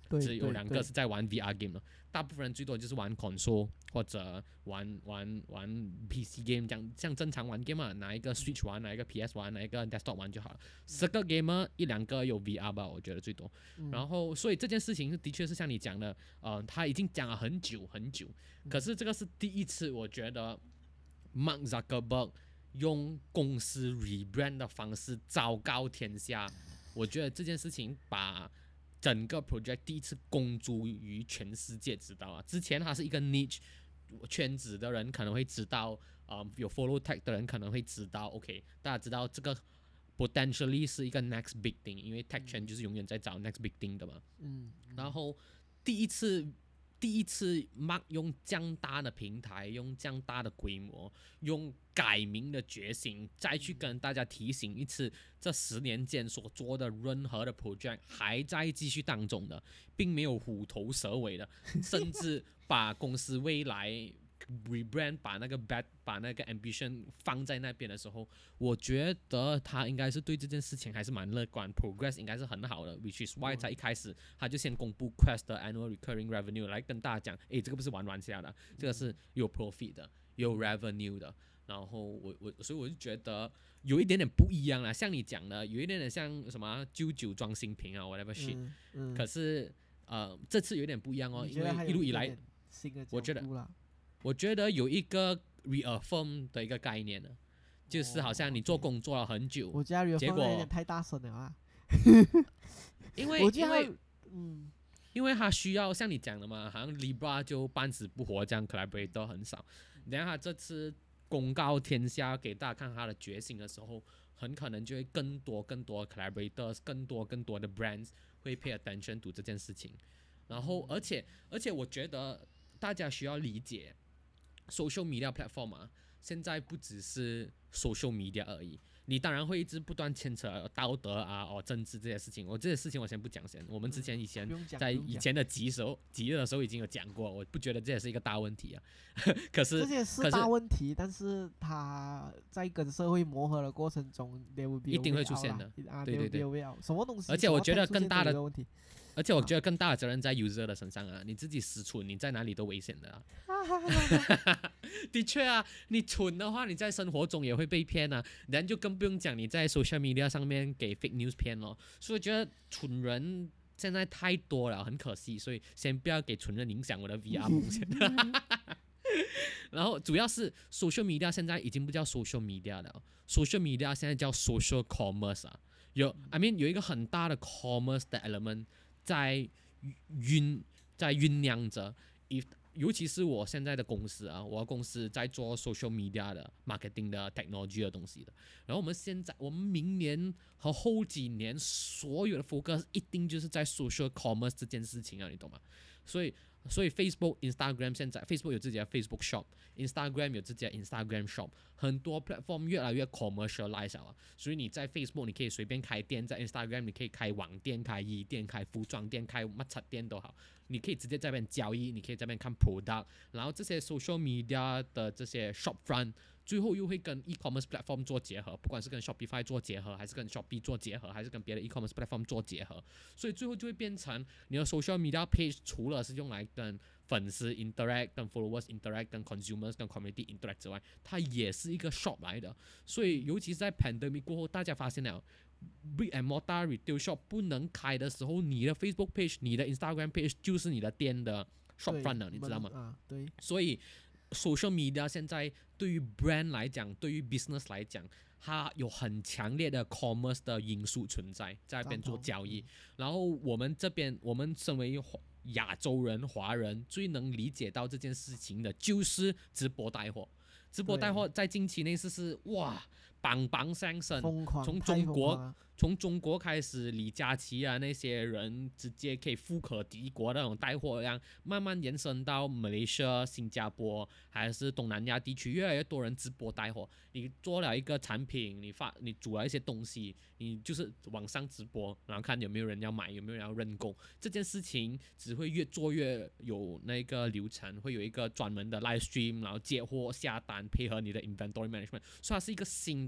Speaker 3: 对
Speaker 2: 只有两
Speaker 3: 对对
Speaker 2: 个是在玩 V R game 的，大部分人最多就是玩 console 或者玩玩玩 P C game， 这样像正常玩 game 啊，拿一个 Switch 玩，拿一个 P S 玩，拿一个 desktop 玩就好了。十个 gamer 一两个有 V R 吧，我觉得最多。
Speaker 3: 嗯
Speaker 2: 然后，所以这件事情的确是像你讲的，呃，他已经讲了很久很久，可是这个是第一次，我觉得 Mark Zuckerberg 用公司 rebrand 的方式昭告天下，我觉得这件事情把整个 project 第一次公诸于全世界知道啊。之前它是一个 niche 圈子的人可能会知道，呃，有 follow tech 的人可能会知道 ，OK， 大家知道这个 potentially 是一个 next big thing， 因为 tech 圈就是永远在找 next big thing 的嘛。
Speaker 3: 嗯，
Speaker 2: 然后第一次第一次 Mark 用这样大的平台，用这样大的规模，用改名的决心，再去跟大家提醒一次，这十年间所做的任何的 project 还在继续当中的，并没有虎头蛇尾的，甚至把公司未来 rebrand 把那个 bad 把那个 ambition 放在那边的时候，我觉得他应该是对这件事情还是蛮乐观 ，progress 应该是很好的 ，which is why 在一开始他就先公布 Quest 的 annual recurring revenue 来跟大家讲，诶，这个不是玩玩下的，这个是有 profit 的，有 revenue 的。然后我我所以我就觉得有一点点不一样啦，像你讲的，有一点点像什么旧酒装新瓶啊 ，whatever shit、
Speaker 3: 嗯嗯、
Speaker 2: 可是呃这次有点不一样哦，因为一路以来，我觉得我觉得有一个 reaffirm 的一个概念呢，就是好像你做工做了很久，
Speaker 3: 我觉得 reaffirm
Speaker 2: 结果
Speaker 3: 有点太大声了啊，
Speaker 2: 因为
Speaker 3: 我觉得
Speaker 2: 因为
Speaker 3: 嗯。
Speaker 2: 因为他需要像你讲的嘛，好像 Libra 就半死不活这样 collaborator 很少，然后他这次公告天下给大家看他的决心的时候，很可能就会更多更多的 collaborators， 更多更多的 brands 会 pay attention to 这件事情。然后而且而且我觉得大家需要理解 social media platform 啊，现在不只是 social media 而已。你当然会一直不断牵扯道德啊、哦政治这些事情，我这些事情我先不讲先。我们之前以前在以前的集时候集的时候已经有讲过，我不觉得这也是一个大问题啊。可是
Speaker 3: 这些是大问题，但是它在跟社会磨合的过程中，
Speaker 2: 一定会出现的。
Speaker 3: 啊、
Speaker 2: 对对对，
Speaker 3: 什么东西？
Speaker 2: 而且我觉得更大的
Speaker 3: 问题。
Speaker 2: 而且我觉得更大的责任在 user 的身上啊！你自己死蠢，你在哪里都危险的啊！的确啊，你蠢的话，你在生活中也会被骗啊，人就更不用讲你在 social media 上面给 fake news 骗咯。所以我觉得蠢人现在太多了，很可惜，所以先不要给蠢人影响我的 V R 梦想。然后主要是 social media 现在已经不叫 social media 了 ，social media 现在叫 social commerce 啊，有 I mean 有一个很大的 commerce 的 element。在酝在酝酿着，尤其是我现在的公司啊，我的公司在做 social media 的 marketing 的 technology 的东西的。然后我们现在，我们明年和后几年所有的 focus 一定就是在 social commerce 这件事情啊，你懂吗？所以，所以 Facebook、Instagram 现在 Facebook 有自己的 Facebook Shop，Instagram 有自己的 Instagram Shop， 很多 platform 越来越 commercialize 了。所以你在 Facebook 你可以随便开店，在 Instagram 你可以开网店、开衣店、开服装店、开乜柒店都好，你可以直接在那边交易，你可以在那边看 product， 然后这些 social media 的这些 shop front。最后又会跟 e-commerce platform 做结合，不管是跟 Shopify 做结合，还是跟 Shopee 做结合，还是跟别的 e-commerce platform 做结合，所以最后就会变成你的 social media page 除了是用来跟粉丝 interact、跟 followers interact、跟 consumers、跟 community interact 之外，它也是一个 shop 来的。所以尤其是在 pandemic 过后，大家发现了 brick and mortar retail shop 不能开的时候，你的 Facebook page、你的 Instagram page 就是你的店的 shop front 了，你知道吗？
Speaker 3: 啊，对。
Speaker 2: 所以social media 现在对于 brand 来讲，对于 business 来讲，它有很强烈的 commerce 的因素存在，在那边做交易。然后我们这边，我们身为亚洲人、华人，最能理解到这件事情的，就是直播带货。直播带货在近期内是是哇，棒棒上升，从中国从中国开始，李佳琦啊那些人直接可以富可敌国的那种带货量，慢慢延伸到马来西亚、新加坡还是东南亚地区，越来越多人直播带货。你做了一个产品，你发你煮了一些东西，你就是网上直播，然后看有没有人要买，有没有人要认购。这件事情只会越做越有那个流程，会有一个专门的 live stream， 然后接货下单，配合你的 inventory management， 所以它是一个新的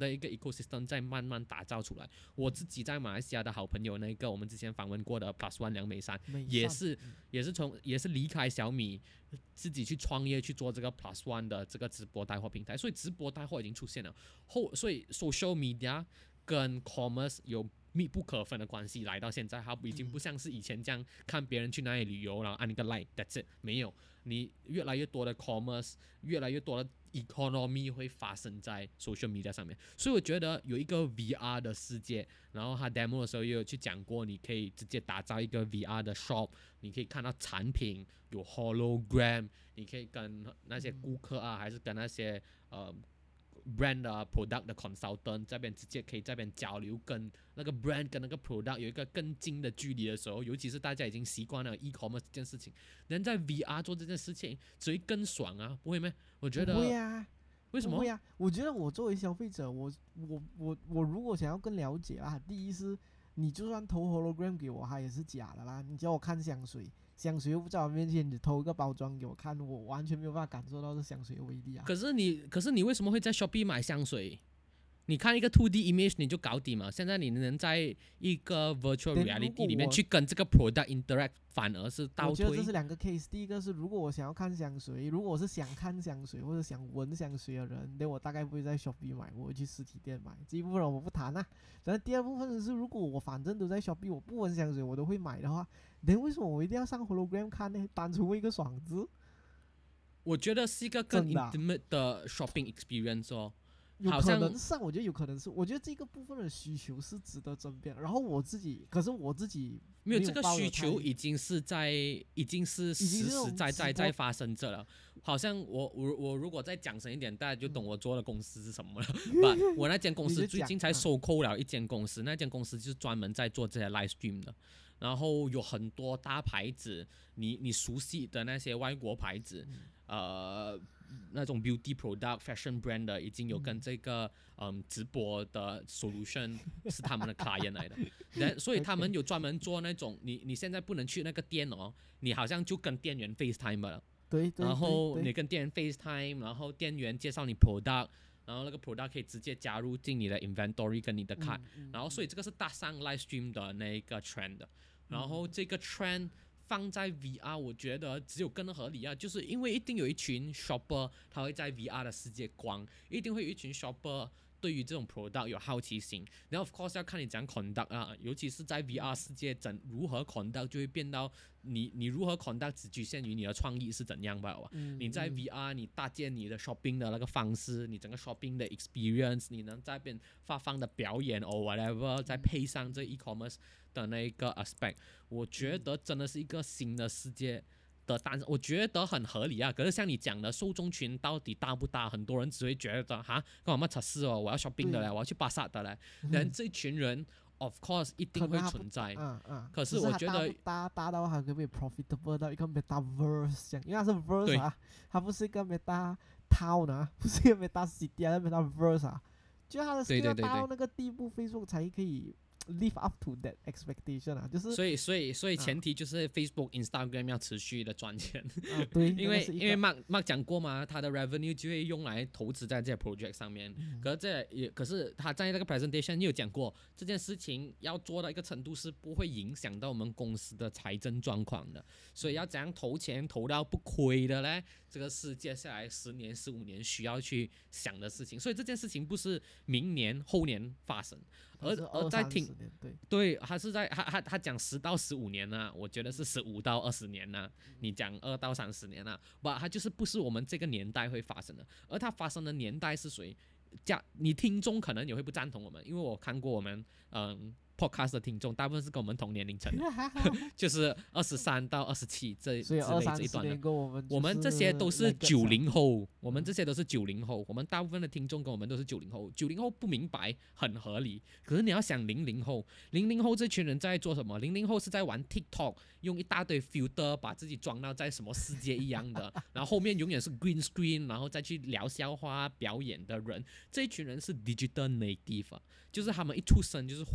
Speaker 2: 的一个 ecosystem 在慢慢打造出来。我自己在马来西亚的好朋友那个我们之前访问过的 Plus One 梁美珊，也是也是从也是离开小米，自己去创业去做这个 Plus One 的这个直播带货平台，所以直播带货已经出现了。后所以 social media 跟 commerce 有密不可分的关系，来到现在，它已经不像是以前这样看别人去哪里旅游，然后按一个 like，that's it， 没有，你越来越多的 commerce， 越来越多的 economy 会发生在 social media 上面，所以我觉得有一个 V R 的世界，然后他 demo 的时候也有去讲过，你可以直接打造一个 V R 的 shop， 你可以看到产品有 hologram， 你可以跟那些顾客啊，还是跟那些呃。brand 的 product 的 consultant 这边直接可以这边交流，跟那个 brand 跟那个 product 有一个更近的距离的时候，尤其是大家已经习惯了 e-commerce 这件事情，能在 V R 做这件事情，只会更爽啊，不会吗？我觉得
Speaker 3: 不会啊，
Speaker 2: 为什么？
Speaker 3: 不会啊，我觉得我作为消费者，我我我我如果想要更了解啊，第一是你就算投 hologram 给我，它也是假的啦。你叫我看香水，香水又不在我面前，你投一个包装给我看，我完全没有办法感受到这香水的威力啊。
Speaker 2: 可是你，可是你为什么会在 Shopee 买香水？你看一个 two D image 你就搞定嘛。现在你能在一个 virtual reality 里面去跟这个 product interact， 反而是倒退。
Speaker 3: 我觉得这是两个 case。第一个是，如果我想要看香水，如果我是想看香水或者想闻香水的人，那我大概不会在 Shopee 买，我会去实体店买。这一部分我不谈啊。但第二部分是，如果我反正都在 Shopee， 我不闻香水我都会买的话，那为什么我一定要上 hologram 看呢？单纯为一个爽字？
Speaker 2: 我觉得是一个更 intimate 的 shopping experience 哦。
Speaker 3: 有可能上，我觉得有可能是，我觉得这个部分的需求是值得争辩。然后我自己，可是我自己
Speaker 2: 没有这个需求，已经是在，已经是实实在在在发生着了。好像我我我如果再讲深一点，大家就懂我做的公司是什么了。嗯、我那间公司最近才收购了一间公司，那间公司就是专门在做这些 live stream 的。然后有很多大牌子，你你熟悉的那些外国牌子，嗯、呃。那种 beauty product fashion brand 的已经有跟这个嗯直播的 solution 是他们的 client 来的，所以他们有专门做那种你你现在不能去那个店哦，你好像就跟店员 FaceTime 了，
Speaker 3: 对，对
Speaker 2: 然后你跟店员 FaceTime， 然后店员介绍你 product， 然后那个 product 可以直接加入进你的 inventory 跟你的 cart，嗯、然后所以这个是搭上 live stream 的那个 trend， 然后这个 trend。放在 V R 我觉得只有更合理啊，就是因为一定有一群 shopper 他会在 V R 的世界逛，一定会有一群 shopper 对于这种 product 有好奇心，然后 of course 要看你怎样 conduct 啊，尤其是在 V R 世界怎如何 conduct 就会变到你你如何 conduct 只局限于你的创意是怎样吧、嗯、你在 V R 你搭建你的 shopping 的那个方式，你整个 shopping 的 experience， 你能在那边发放的表演 or whatever， 再配上这 e-commerce的那个 aspect， 我觉得真的是一个新的世界的诞生，我觉得很合理啊。可是像你讲的，受众群到底大不大？很多人只会觉得哈，干嘛测试哦？我要 shopping 的嘞，我要去巴萨的嘞。人这群人 ，of course 一定会存在。
Speaker 3: 嗯嗯。
Speaker 2: 可是我觉得
Speaker 3: 大大到它可不可以 profitable 到一个 metaverse 这样？因为它是 verse 啊，它不是一个 meta town 啊，不是一个 meta city 啊，是 metaverse 啊。就它的 scale 大到那个地步 ，Facebook 才可以live up to that expectation 啊，就是
Speaker 2: 所以所以所以前提就是 Facebook、Instagram 要持续的赚钱，
Speaker 3: 啊对，
Speaker 2: 因为因为 Mark Mark 讲过嘛，他的 revenue 就会用来投资在这些 project 上面，嗯、可是这也可是他在那个 presentation 也有讲过，这件事情要做到一个程度是不会影响到我们公司的财政状况的，所以要怎样投钱投到不亏的嘞？这个是接下来十年、十五年需要去想的事情，所以这件事情不是明年、后年发生，而而在听
Speaker 3: 对
Speaker 2: 对，他是在他他他讲十到十五年呢、啊，我觉得是十五到二十年呢、啊，你讲二到三十年呢、啊，不，他就是不是我们这个年代会发生的，而它发生的年代是谁？加你听众可能也会不赞同我们，因为我看过我们嗯。podcast 的听众大部分是跟我们同年龄层的，就是二十三到二十七这之类这一段的。
Speaker 3: 我们
Speaker 2: 我们这些都是九零后，我们这些都是九零后，我们大部分的听众跟我们都是九零后。九零后不明白很合理，可是你要想零零后，零零后这群人在做什么？零零后是在玩 TikTok， 用一大堆 filter 把自己装到在什么世界一样的，然后后面永远是 green screen， 然后再去聊笑话表演的人，这一群人是 digital native，、啊、就是他们一出生就是活在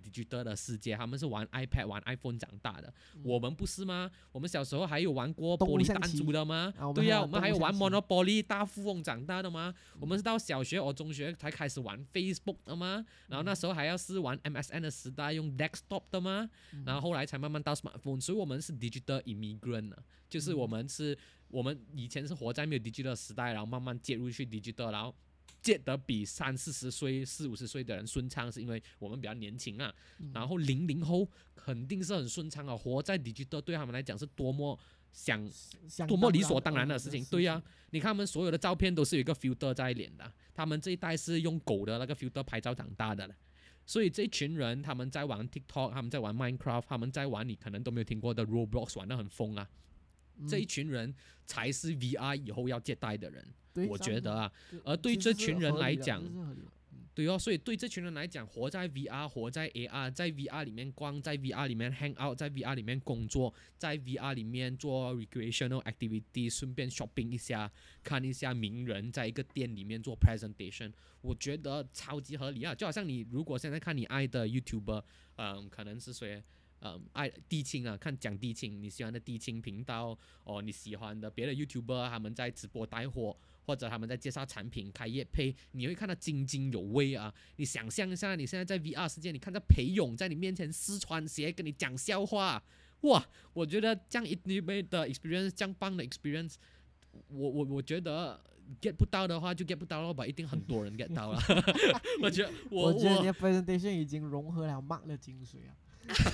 Speaker 2: digital 的世界，他们是玩 iPad 玩 iPhone 长大的，嗯、我们不是吗？我们小时候还有玩过玻璃弹珠的吗？对呀、啊，我们还有玩 Monopoly 大富翁长大的吗？嗯、我们是到小学或中学才开始玩 Facebook 的吗？然后那时候还要是玩 M S N 的时代用 desktop 的吗？嗯、然后后来才慢慢到 smartphone， 所以我们是 digital immigrant 啊，就是我们是。我们以前是活在没有 digital 的时代，然后慢慢接入去 digital， 然后接得比三四十岁、四五十岁的人顺畅，是因为我们比较年轻啊。嗯、然后零零后肯定是很顺畅啊，活在 digital 对他们来讲是多么想、多么理所当然的事情。对呀、啊，你看他们所有的照片都是有一个 filter 在脸的，他们这一代是用狗的那个 filter 拍照长大的了。所以这一群人他们在玩 TikTok， 他们在玩 Minecraft， 他们在玩你可能都没有听过的 Roblox， 玩得很疯啊。这一群人才是 V R 以后要接待的人，我觉得啊。而对这群人来讲，对哦，所以对这群人来讲，活在 V R， 活在 A R， 在 V R 里面逛，在 V R 里面 hang out， 在 V R 里面工作，在 V R 里面做 recreational activity， 顺便 shopping 一下，看一下名人，在一个店里面做 presentation， 我觉得超级合理啊。就好像你如果现在看你爱的 YouTuber， 嗯，可能是谁？嗯，爱地青啊，看讲地青，你喜欢的地青频道哦，你喜欢的别的 YouTuber， 他们在直播带货，或者他们在介绍产品、开业配，你会看到津津有味啊。你想象一下，你现在在 V R 世界，你看到裴勇在你面前撕穿鞋跟你讲笑话，哇，我觉得这样一倍的 experience， 这样棒的 experience， 我我我觉得 get 不到的话就 get 不到了吧，一定很多人 get 到了。我觉得我
Speaker 3: 我觉得你的 presentation 已经融合了 Mark 的精髓啊。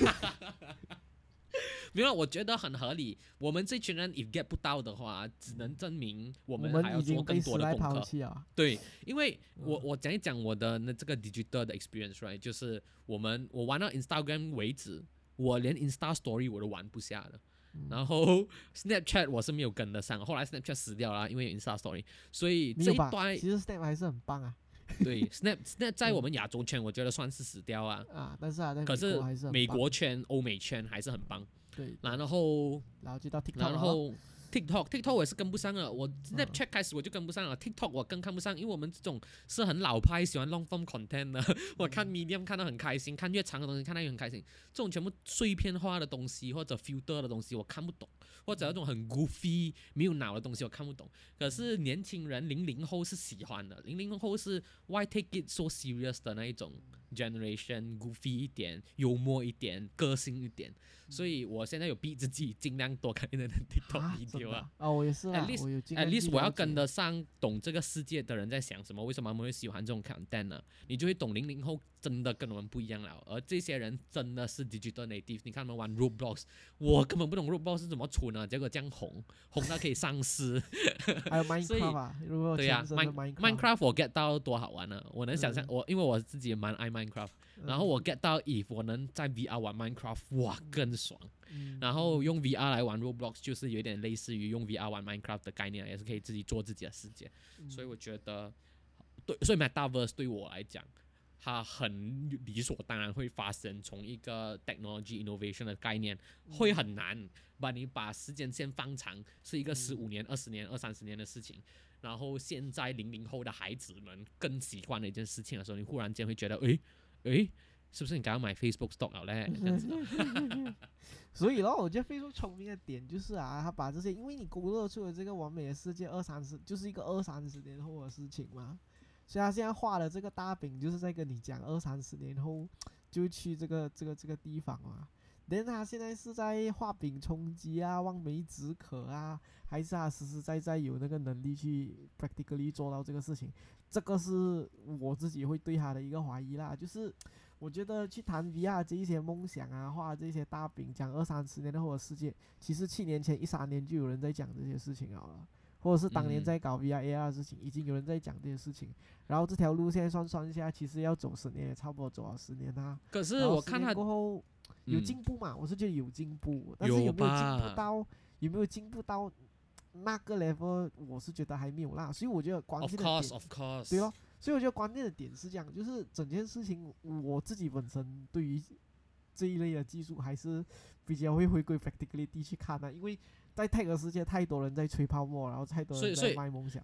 Speaker 2: 没有，我觉得很合理。我们这群人 if get 不到的话，只能证明我们还要做更多的功课。
Speaker 3: 啊、
Speaker 2: 对，因为我我讲一讲我的那这个 digital 的 experience，right， 就是我们我玩到 Instagram 为止，我连 Insta Story 我都玩不下了。嗯、然后 Snapchat 我是没有跟得上，后来 Snapchat 死掉了，因为有 Insta Story， 所以这一段
Speaker 3: 其实 Snap 还是很棒啊。
Speaker 2: 对 ，Snap Snap 在我们亚洲圈，我觉得算是死掉啊。
Speaker 3: 啊，但是啊，
Speaker 2: 可是美国
Speaker 3: 圈、
Speaker 2: 欧美圈还是很棒。
Speaker 3: 对，
Speaker 2: 然后，
Speaker 3: 然后就到 TikTok，
Speaker 2: 然后 TikTok TikTok 我也是跟不上了。我 Snapchat 开始我就跟不上了、嗯、，TikTok 我更看不上，因为我们这种是很老派，喜欢 long form content 的。我看 Medium 看得很开心，看越长的东西看得也很开心。这种全部碎片化的东西或者 filter 的东西我看不懂，或者那种很 goofy 没有脑的东西我看不懂。可是年轻人零零后是喜欢的，零零后是 why take it so serious 的那一种 generation， goofy 一点，幽默一点，个性一点。所以我现在有逼自己尽量多看一点 TikTok video 啊。
Speaker 3: 啊，我也是啊。
Speaker 2: At least
Speaker 3: 我有
Speaker 2: at least 我要跟得上，懂这个世界的人在想什么，为什么他们会喜欢这种 content 呢？你就会懂零零后真的跟我们不一样了。而这些人真的是 digital native， 你看他们玩 Roblox， 我根本不懂 Roblox 是怎么存啊，结果这样红，红到可以上市。
Speaker 3: 还有 Minecraft 啊，如果
Speaker 2: 对呀、
Speaker 3: 啊、
Speaker 2: Minecraft Minecraft 我 get 到多好玩呢、啊，我能想象、嗯、我因为我自己也蛮爱 Minecraft，、嗯、然后我 get 到 if 我能在 V R 玩 Minecraft， 哇更爽。嗯、然后用 V R 来玩 Roblox 就是有点类似于用 V R 玩 Minecraft 的概念，也是可以自己做自己的世界。嗯、所以我觉得，对，所以 Metaverse 对我来讲，它很理所当然会发生，从一个 technology innovation 的概念会很难，把你把时间线放长，是一个十五年、二十年、二三十年的事情。然后现在零零后的孩子们更习惯的一件事情的时候，你忽然间会觉得，诶诶，是不是你刚刚买 Facebook stock 了嘞？这样子
Speaker 3: 所以咯，我觉得 Facebook 聪明的点就是啊，他把这些，因为你勾勒出了这个完美的世界，二三十就是一个二三十年后的事情嘛。所以他现在画的这个大饼，就是在跟你讲二三十年后就去这个这个这个地方嘛。但他现在是在画饼充饥啊，望梅止渴啊，还是他实实在在有那个能力去 practically 做到这个事情？这个是我自己会对他的一个怀疑啦。就是我觉得去谈 V R 这一些梦想啊，画这些大饼，讲二三十年后的世界，其实七年前、一三年就有人在讲这些事情好了。或者是当年在搞 V R A R 的事情、嗯，已经有人在讲这些事情，然后这条路线算算一下，其实要走十年，也差不多走了十年啊。
Speaker 2: 可是我看他
Speaker 3: 过后有进步嘛、嗯，我是觉得有进步，但是有没有进步到有没有进步到那个 level， 我是觉得还没有啦。所以我觉得关键的点
Speaker 2: ，of course, of course，
Speaker 3: 对咯，所以我觉得关键的点是这样，就是整件事情我自己本身对于这一类的技术还是比较会回归 practicality 去看的、啊，因为在 tech 的世界太多人在吹泡沫，然后太多人在卖梦想。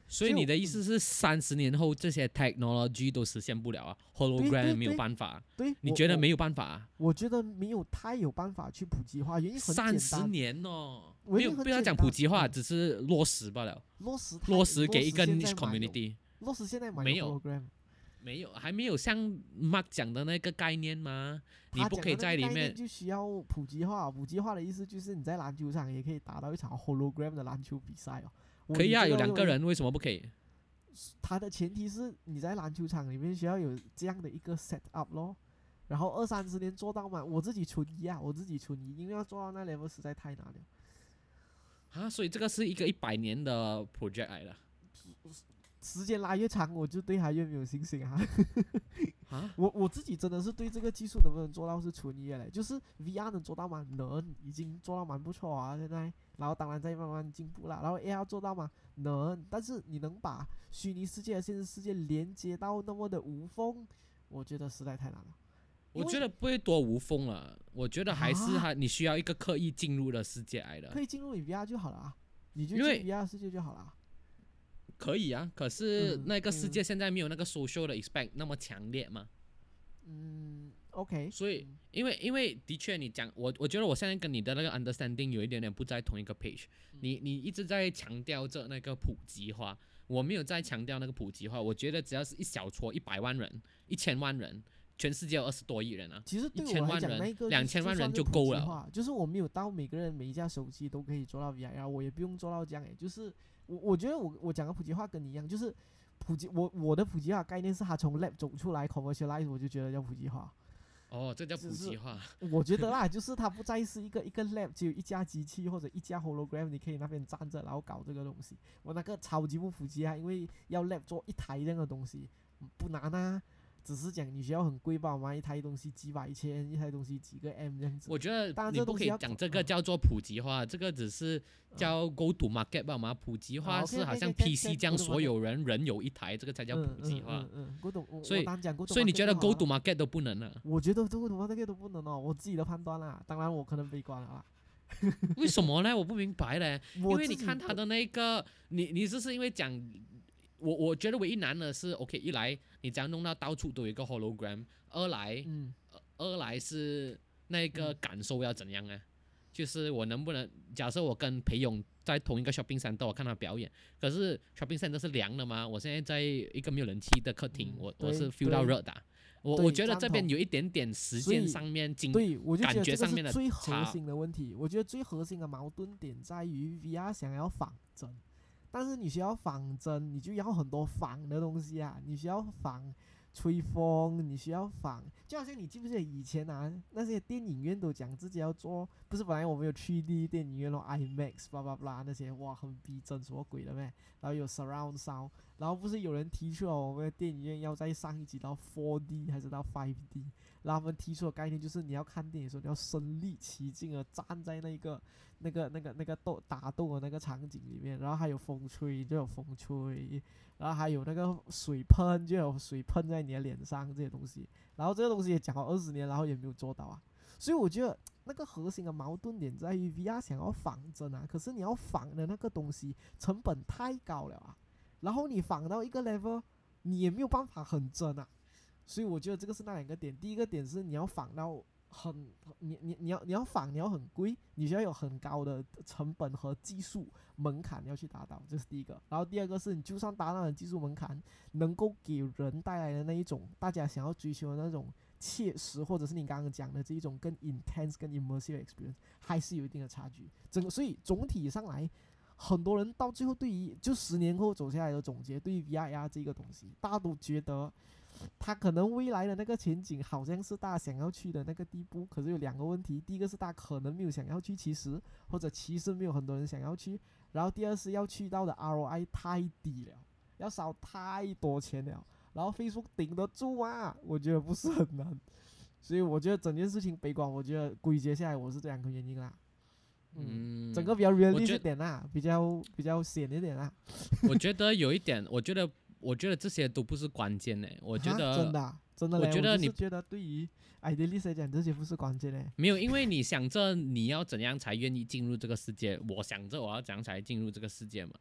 Speaker 2: 所以你的意思是，三十年后这些 technology 都实现不了啊
Speaker 3: 对
Speaker 2: ？hologram 没有
Speaker 3: 对
Speaker 2: 办法，
Speaker 3: 对，我我
Speaker 2: 你觉得没有办法啊？
Speaker 3: 我觉得没有太有办法去普及化，原因很
Speaker 2: 三十
Speaker 3: 简单，
Speaker 2: 年哦，
Speaker 3: 原因很
Speaker 2: 没有不要讲
Speaker 3: 简单
Speaker 2: 普及化，
Speaker 3: 嗯
Speaker 2: 只是落实罢了，
Speaker 3: 落实太
Speaker 2: 落实给一个
Speaker 3: 现
Speaker 2: niche
Speaker 3: 在买有
Speaker 2: community。
Speaker 3: 落实现在买
Speaker 2: 没有
Speaker 3: hologram，
Speaker 2: 没有，还没有像 Mark 讲的那个概念吗？你
Speaker 3: 他
Speaker 2: 不可以
Speaker 3: 讲的那个概
Speaker 2: 在里面
Speaker 3: 念就需要普及化，普及化的意思就是你在篮球场也可以打到一场 hologram 的篮球比赛哦。我
Speaker 2: 可以啊，有
Speaker 3: 你这个为
Speaker 2: 两个人为什么不可以？
Speaker 3: 它的前提是你在篮球场里面需要有这样的一个 set up 咯，然后二三十年做到嘛，我自己存疑啊，我自己存疑，因为要做到那 level 实在太难了。
Speaker 2: 啊，所以这个是一个一百年的 project 来的
Speaker 3: 时间拉越长，我就对它越没有信心啊。
Speaker 2: 啊？
Speaker 3: 我我自己真的是对这个技术能不能做到是存疑的嘞，就是 V R 能做到吗？能，已经做到蛮不错啊，现在。然后当然在慢慢进步啦。然后 A R 做到吗？能，但是你能把虚拟世界和现实世界连接到那么的无缝，我觉得实在太难了。
Speaker 2: 我觉得不会多无缝了，我觉得还是
Speaker 3: 啊
Speaker 2: 还你需要一个刻意进入的世界来的
Speaker 3: 可。以进入你 V R 就好了啊，你就
Speaker 2: 因为
Speaker 3: 进 V R 世界就好了啊。
Speaker 2: 可以啊，可是
Speaker 3: 嗯
Speaker 2: 那个世
Speaker 3: 嗯
Speaker 2: 界现在没有那个 social 的 expect 那么强烈嘛，
Speaker 3: 嗯，OK，
Speaker 2: 所以因为因为的确你讲我我觉得我现在跟你的那个 understanding 有一点点不在同一个 page，你你一直在强调着那个普及化，我没有在强调那个普及化，我觉得只要是一小撮一百万人、一千万人，全世界有二十多亿人啊，
Speaker 3: 其实对
Speaker 2: 一千
Speaker 3: 我来讲，
Speaker 2: 万人
Speaker 3: 那个
Speaker 2: 两千万人就够了。
Speaker 3: 就是我没有到每个人每一架手机都可以做到 V R，我也不用做到这样诶。就是我我觉得我我讲的普及化跟你一样，就是普及我我的普及化概念是它从 lab 走出来 commercialize，我就觉得叫普及化。
Speaker 2: 哦，这叫普及化。
Speaker 3: 我觉得啦，就是它不再是一个一个 lab 只有一架机器或者一架 hologram，你可以那边站着然后搞这个东西。我那个超级不普及啊，因为要 lab 做一台这样的东西不难啊。只是讲你需要很贵吧嘛，一台东西几百千，一台东西几个 M 这样子。
Speaker 2: 我觉得
Speaker 3: 当然
Speaker 2: 你不可以
Speaker 3: 这东西要
Speaker 2: 讲这个叫做普及化，这个只是叫 go to market 吧嘛。普及化
Speaker 3: 啊
Speaker 2: 是好像
Speaker 3: ，OK，OK，OK，
Speaker 2: P C 这样，
Speaker 3: go to
Speaker 2: 所有人人有一台，这个才叫普及化。
Speaker 3: 嗯嗯嗯，古董，我
Speaker 2: 所以
Speaker 3: 我单讲古董，
Speaker 2: 所以你觉得 go to market 都不能啊？
Speaker 3: 我觉得这个古董那个都不能哦，我自己的判断啦。当然我可能悲观了啦。
Speaker 2: 为什么呢？我不明白嘞。因为你
Speaker 3: 我自己
Speaker 2: 看他的那个，你你是是因为讲，我我觉得唯一难的是，OK，一来你这样弄到到处都有一个 hologram，二来
Speaker 3: 嗯
Speaker 2: 二来是那个感受要怎样呢？就是我能不能，假设我跟裴勇在同一个 shopping center，我看他表演，可是 shopping center 是凉的嘛，我现在在一个没有人气的客厅，
Speaker 3: 嗯
Speaker 2: 我我是
Speaker 3: 对
Speaker 2: feel 到
Speaker 3: 对
Speaker 2: 热的啊。我
Speaker 3: 对
Speaker 2: 我觉得
Speaker 3: 赞同
Speaker 2: 这边有一点点时
Speaker 3: 所以
Speaker 2: 间上面经
Speaker 3: 对，我就觉
Speaker 2: 感
Speaker 3: 得这个
Speaker 2: 觉上面的
Speaker 3: 是最核
Speaker 2: 差
Speaker 3: 心的问题。我觉得最核心的矛盾点在于 V R 想要仿真，但是你需要仿真，你就要很多仿的东西啊，你需要仿吹风，你需要仿，就好像你记不记得以前啊，那些电影院都讲自己要做，不是本来我们有 三 D 电影院咯 ，IMAX，巴拉巴拉那些，哇，很逼真，什么鬼的咩？然后有 surround sound，然后不是有人提出了我们的电影院要再上一级到 四 D 还是到五 D，然后他们提出的概念就是你要看电影的时候，你要身临其境的站在那个那个那个那个斗打斗的那个场景里面，然后还有风吹就有风吹。然后还有那个水喷，就有水喷在你的脸上这些东西，然后这个东西也讲了二十年，然后也没有做到啊。所以我觉得那个核心的矛盾点在于 V R 想要仿真啊，可是你要仿的那个东西成本太高了啊，然后你仿到一个 level，你也没有办法很真啊。所以我觉得这个是那两个点，第一个点是你要仿到很你你你要你要仿你要很贵，你需要有很高的成本和技术门槛要去达到，这是第一个。然后第二个是你就算达到了技术门槛，能够给人带来的那一种大家想要追求的那种切实，或者是你刚刚讲的这一种更 intense 更 immersive experience， 还是有一定的差距。整个所以总体上来，很多人到最后对于就十年后走下来的总结，对于 V R 这个东西，大家都觉得它可能未来的那个前景好像是大家想要去的那个地步，可是有两个问题，第一个是大家可能没有想要去，其实或者其实没有很多人想要去，然后第二是要去到的 R O I 太低了，要烧太多钱了，然后 Facebook 顶得住吗？我觉得不是很难，所以我觉得整件事情悲观，我觉得归结下来我是这两个原因啦。嗯，
Speaker 2: 嗯，
Speaker 3: 整个比较 realistic
Speaker 2: 觉
Speaker 3: 一点啦，比较比较显一点啦。
Speaker 2: 我觉得有一点，我觉得我觉得这些都不是关键嘞。我觉
Speaker 3: 啊
Speaker 2: 得
Speaker 3: 真的啊、真的嘞，
Speaker 2: 我觉得你
Speaker 3: 就是觉得对于 idealist 来讲，这些不是关键嘞。
Speaker 2: 没有，因为你想着你要怎样才愿意进入这个世界，我想着我要怎样才进入这个世界嘛。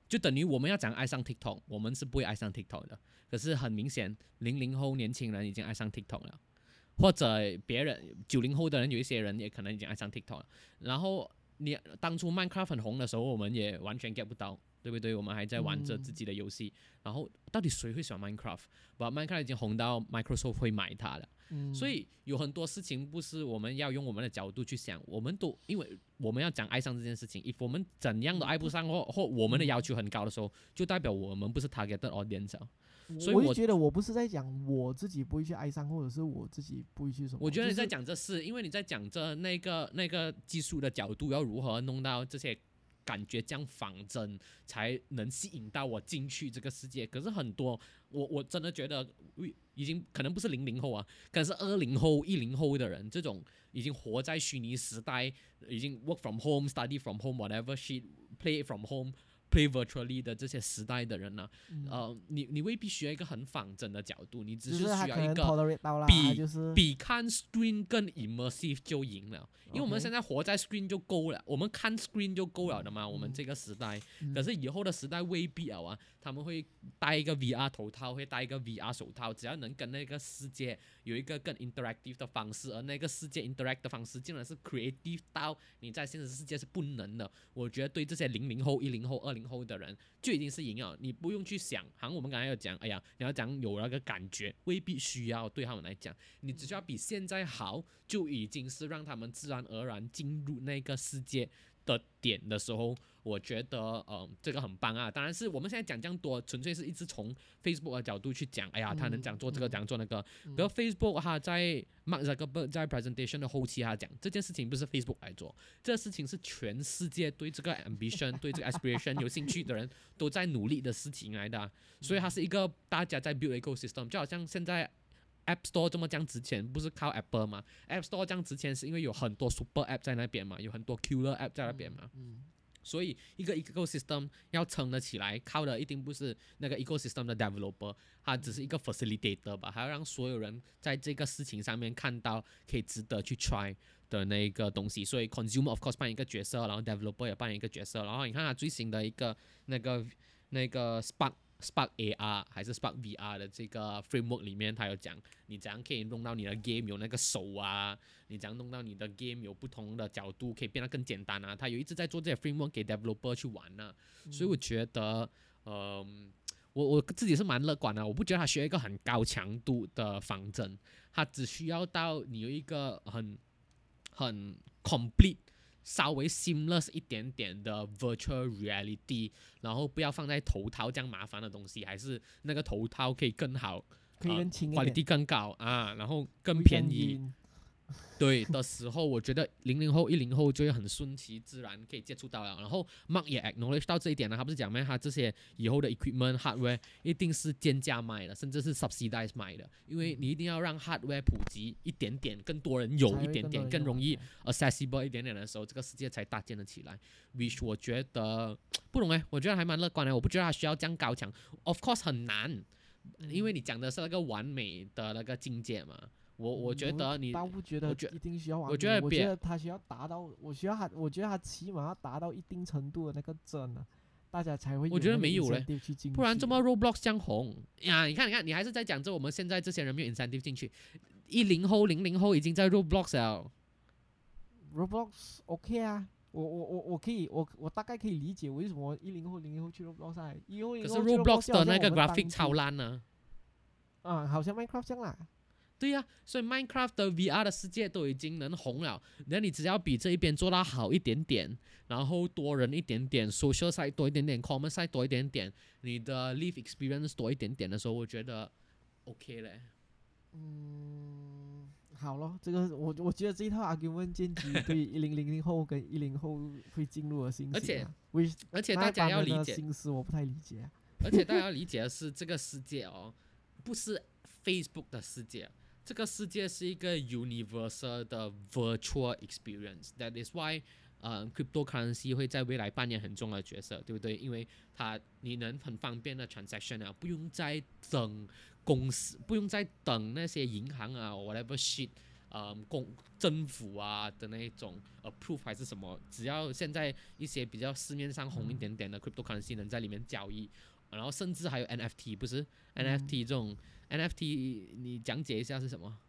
Speaker 2: 就等于我们要讲爱上 TikTok， 我们是不会爱上 TikTok 的。可是很明显，零零后年轻人已经爱上 TikTok 了，或者别人九零后的人有一些人也可能已经爱上 TikTok 了。然后你当初 Minecraft 很红的时候，我们也完全 get 不到，对不对？我们还在玩着自己的游戏，嗯、然后到底谁会喜欢 Minecraft？ 把 Minecraft 已经红到 Microsoft 会买它了。
Speaker 3: 嗯、
Speaker 2: 所以有很多事情不是我们要用我们的角度去想，我们都因为我们要讲爱上这件事情，if 我们怎样都爱不上或或我们的要求很高的时候，就代表我们不是 targeted audience。所以我
Speaker 3: 我就觉得我不是在讲我自己不会去哀伤，或者是我自己不会去什么。
Speaker 2: 我觉得你在讲这事，因为你在讲这那个那个技术的角度要如何弄到这些感觉这样仿真，才能吸引到我进去这个世界。可是很多我我真的觉得已经可能不是零零后啊，可能是二零后、一零后的人，这种已经活在虚拟时代，已经 work from home、study from home、whatever shit、play from home。play virtually 的这些时代的人呢、啊嗯，呃，你你未必需要一个很仿真的角度，你只是需要一个比、
Speaker 3: 就是、
Speaker 2: 比看 screen 更 immersive 就赢了，因为我们现在活在 screen 就够了，我们看 screen 就够了的嘛，嗯、我们这个时代、嗯，可是以后的时代未必了啊，他们会戴一个 V R 头套，会戴一个 V R 手套，只要能跟那个世界有一个更 interactive 的方式，而那个世界 interact 的方式竟然是 creative 到你在现实世界是不能的，我觉得对这些零零后、一零后、二零后的人就已经是赢了，你不用去想，好像我们刚才有讲，哎呀，你要讲有那个感觉，未必需要对他们来讲，你只需要比现在好，就已经是让他们自然而然进入那个世界的点的时候，我觉得呃这个很棒啊。当然是我们现在讲这样多，纯粹是一直从 Facebook 的角度去讲，哎呀，他能讲做这个，讲做那个。比如 Facebook 他在 Mark Zuckerberg 在 presentation 的后期，他讲这件事情不是 Facebook 来做，这个事情是全世界对这个 ambition 对这个 aspiration 有兴趣的人都在努力的事情来的、啊，所以它是一个大家在 build ecosystem， 就好像现在。App Store 这么这样值钱，不是靠 Apple 吗 ？App Store 这样值钱是因为有很多 Super App 在那边嘛，有很多 Killer App 在那边嘛。嗯嗯、所以一个 ecosystem 要撑得起来，靠的一定不是那个 ecosystem 的 developer， 它只是一个 facilitator 吧，还要让所有人在这个事情上面看到可以值得去 try 的那个东西。所以 consumer of course 扮演一个角色，然后 developer 也扮演一个角色。然后你看它最新的一个那个那个 Spark。Spark A R 还是 Spark V R 的这个 framework 里面，它有讲你怎样可以弄到你的 game 有那个手啊，你怎样弄到你的 game 有不同的角度，可以变得更简单啊。它有一直在做这些 framework 给 developer 去玩呢、啊嗯，所以我觉得，呃，我我自己是蛮乐观的。我不觉得它需要一个很高强度的仿真，它只需要到你有一个很很 complete。稍微 seamless 一点点的 virtual reality， 然后不要放在头套这样麻烦的东西，还是那个头套可以更好，
Speaker 3: 可以更轻一点，
Speaker 2: quality 更高啊，然后更便宜。对的时候，我觉得零零后、一零后就会很顺其自然可以接触到了。然后 Mark 也 acknowledge 到这一点了，他不是讲咩？他这些以后的 equipment hardware 一定是贱价卖的，甚至是 subsidize 卖的，因为你一定要让 hardware 普及一点点，更多人有一点点，更容易 accessible 一点点的时候，这个世界才搭建得起来。which 我觉得不懂哎，我觉得还蛮乐观的。我不觉得他需要这样高强 ，of course 很难，因为你讲的是那个完美的那个境界嘛。我我觉得你，
Speaker 3: 倒不觉得一定需要完美，
Speaker 2: 我觉得
Speaker 3: 我觉得他需要达到，我需要他，我觉得他起码要达到一定程度的那个真啊，大家才会有。
Speaker 2: 我觉得没有嘞，不然这么 Roblox 这样红呀？你看，你看，你还是在讲着我们现在这些人没有 incentive 进去，一零后、零零后已经在 Roblox 了。
Speaker 3: Roblox OK 啊，我我我我可以，我我大概可以理解为什么一零后、零零后去 Roblox 啊，一零后、零零后去
Speaker 2: Roblox 可是 Roblox 的那个 graphic 超烂呢。
Speaker 3: 啊，好像 Minecraft 这样啦。
Speaker 2: 对呀、啊，所以 Minecraft 的 V R 的世界都已经能红了，那你只要比这一边做到好一点点，然后多人一点点 ，social side 多一点点 ，common side 多一点点，你的 live experience 多一点点的时候，我觉得 OK 嘞。
Speaker 3: 嗯，好咯，这个我我觉得这一套 argument 建基对一零零零后跟一零后会进入的信息、啊，
Speaker 2: 而且而且大家要理解，
Speaker 3: 心思我不太理解、啊，
Speaker 2: 而且大家要理解的是，这个世界哦，不是 Facebook 的世界。这个世界是一个 universal 的 virtual experience. That is why 呃 cryptocurrency 会在未来扮演很重要的角色，对不对？因为它你能很方便的 transaction 啊，不用再等公司，不用再等那些银行啊 whatever shit 呃公政府啊的那一种 approve 还是什么，只要现在一些比较市面上红一点点的 cryptocurrency 能在里面交易，然后甚至还有 N F T， 不是 N F T 这种、嗯、N F T 你讲解一下是什么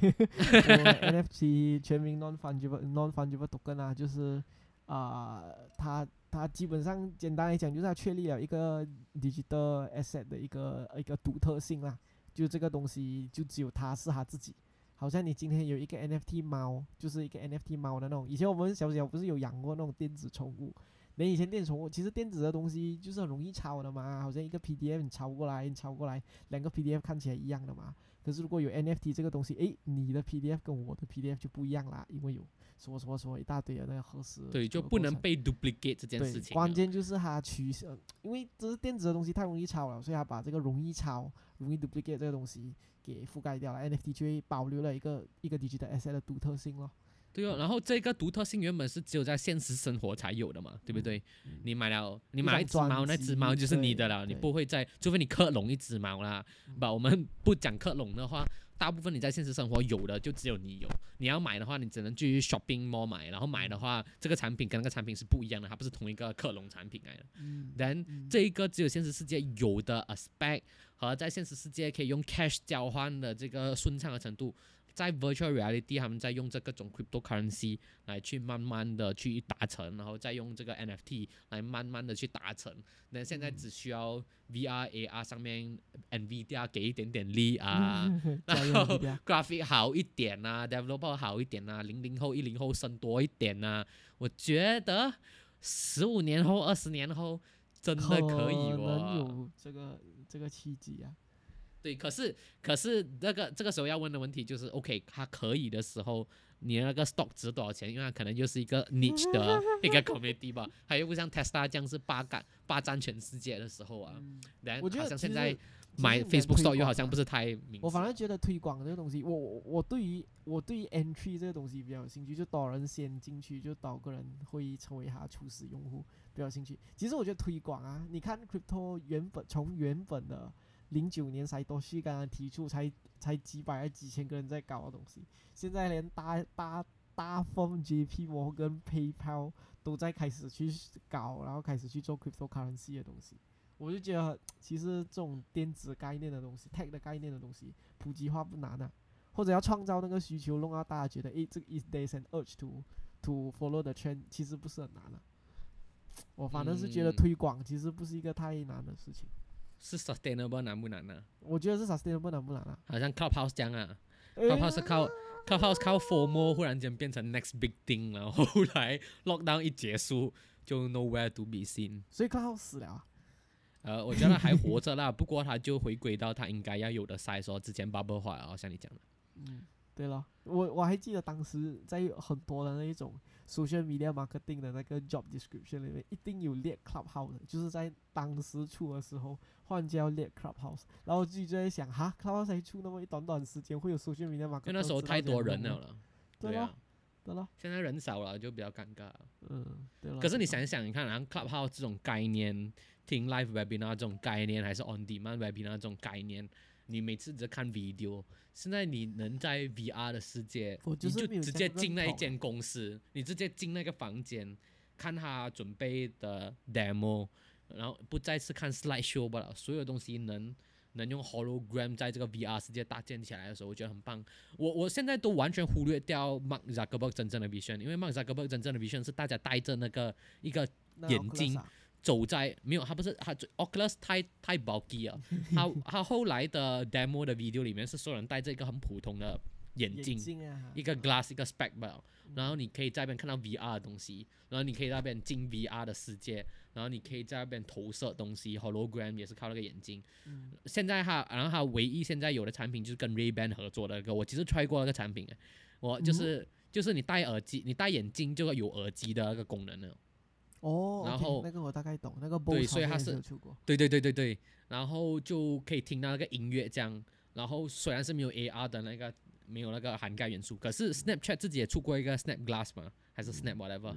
Speaker 3: ？N F T 全名 non fungible non fungible token 啊，就是啊、呃，它它基本上简单来讲就是它确立了一个 digital asset 的一个一个独特性啦，就这个东西就只有它是它自己。好像你今天有一个 N F T 猫，就是一个 N F T 猫的那种。以前我们小小不是有养过那种电子宠物？那以前电子宠物其实电子的东西就是很容易抄的嘛，好像一个 P D F 你抄过来，你抄过来，两个 P D F 看起来一样的嘛。可是如果有 N F T 这个东西，诶，你的 P D F 跟我的 P D F 就不一样啦，因为有什么什么什么一大堆的那个核实。
Speaker 2: 对，就不能被 duplicate 这件事情。
Speaker 3: 关键就是它取舍，因为这是电子的东西太容易抄了，所以它把这个容易抄、容易 duplicate 这个东西给覆盖掉了 ，N F T 就会保留了一个一个 digital asset 的独特性咯。
Speaker 2: 对哦，然后这个独特性原本是只有在现实生活才有的嘛，对不对？嗯、你买了，你买了一只猫，那只猫就是你的了，你不会再，除非你克隆一只猫啦。不、嗯，我们不讲克隆的话，大部分你在现实生活有的就只有你有。你要买的话，你只能去 shopping mall 买，然后买的话，这个产品跟那个产品是不一样的，它不是同一个克隆产品来的。嗯。then、嗯、这一个只有现实世界有的 aspect 和在现实世界可以用 cash 交换的这个顺畅的程度。在 virtual reality 他们在用这个种 cryptocurrency 来去慢慢的去达成，然后再用这个 N F T 来慢慢的去达成。那现在只需要 V R、A R 上面 Nvidia 给一点点力啊，然后 graphic 好一点啊 ，developer 好一点啊，零零后、一零后生多一点啊，我觉得十五年后、二十年后真的可以哦，
Speaker 3: 可能有这个这个契机啊。
Speaker 2: 对，可是可是那个这个时候要问的问题就是 ，OK， 它可以的时候，你那个 stock 值多少钱？因为它可能就是一个 niche 的一个 community 吧，它又不像 Tesla 这样是霸占霸占全世界的时候啊。然后、嗯、好像现在买 Facebook stock 又好像不是太明。
Speaker 3: 我反而觉得推广这个东西，我我我对于我对于 entry 这个东西比较有兴趣，就多人先进去，就多个人会成为他初始用户比较有兴趣。其实我觉得推广啊，你看 crypto 原本从原本的零九年才多旭刚刚提出才才几百还几千个人在搞的东西，现在连大大大风 J P Morgan PayPal 都在开始去搞，然后开始去做 cryptocurrency 的东西。我就觉得其实这种电子概念的东西 tech 的概念的东西普及化不难啊，或者要创造那个需求，弄到大家觉得诶这个 is there's an urge to to follow the trend， 其实不是很难啊。我反正是觉得推广其实不是一个太难的事情。
Speaker 2: 是 sustainable 难不难呢、啊？
Speaker 3: 我觉得是 sustainable 难不难啊？
Speaker 2: 好像 Clubhouse 这样啊、欸、，Clubhouse 是靠 Clubhouse 靠 FOMO 忽然间变成 next big thing， 然后后来 lockdown 一结束就 nowhere to be seen，
Speaker 3: 所以 Clubhouse 死了啊。
Speaker 2: 呃，我觉得还活着啦，不过他就回归到他应该要有的 size 哦，之前 bubble 化了，像你讲的。
Speaker 3: 嗯，对了，我我还记得当时在很多的那一种 social media marketing 的那个 job description 里面，一定有列 Clubhouse， 就是在当时出的时候，忽然间要列 Clubhouse， 然后自己就在想，哈 ，Clubhouse 才出那么一短短时间，会有 social media marketing？
Speaker 2: 因为那时候太多人了了。
Speaker 3: 对啊。对了，
Speaker 2: 现在人少了就比较尴尬。
Speaker 3: 嗯，对了。
Speaker 2: 可是你想想，你看，然后 Clubhouse 这种概念，听 live webinar 这种概念，还是 on demand webinar 这种概念，你每次只看 video， 现在你能在 V R 的世界，你就直接进那一间公司，你直接进那个房间，看他准备的 demo， 然后不再是看 slide show 罢了，所有东西能。能用 hologram 在这个 V R 世界搭建起来的时候，我觉得很棒。我我现在都完全忽略掉 Mark Zuckerberg 真正的 vision， 因为 Mark Zuckerberg 真正的 vision 是大家戴着那个一个眼镜走在没有，他不是他 Oculus 太太 bulky 了，他他后来的 demo 的 video 里面是所有人戴着一个很普通的眼镜，
Speaker 3: 眼镜啊、
Speaker 2: 一个 glass 一个 spec 吧，然后你可以在那边看到 V R 的东西，然后你可以在那边进 V R 的世界。然后你可以在那边投射东西 ，hologram 也是靠那个眼睛。嗯、现在它，然后它唯一现在有的产品就是跟 Ray-Ban 合作的那个，我其实 try 过那个产品，我就是、嗯、就是你戴耳机，你戴眼镜就有耳机的那个功能了。
Speaker 3: 哦，
Speaker 2: 然后、
Speaker 3: okay, 那个我大概懂，那个 Bose
Speaker 2: 对，所以它是对对对对对，然后就可以听到那个音乐这样。然后虽然是没有 A R 的那个，没有那个涵盖元素，可是 Snapchat 自己也出过一个 Snap Glass 嘛，还是 Snap whatever、嗯。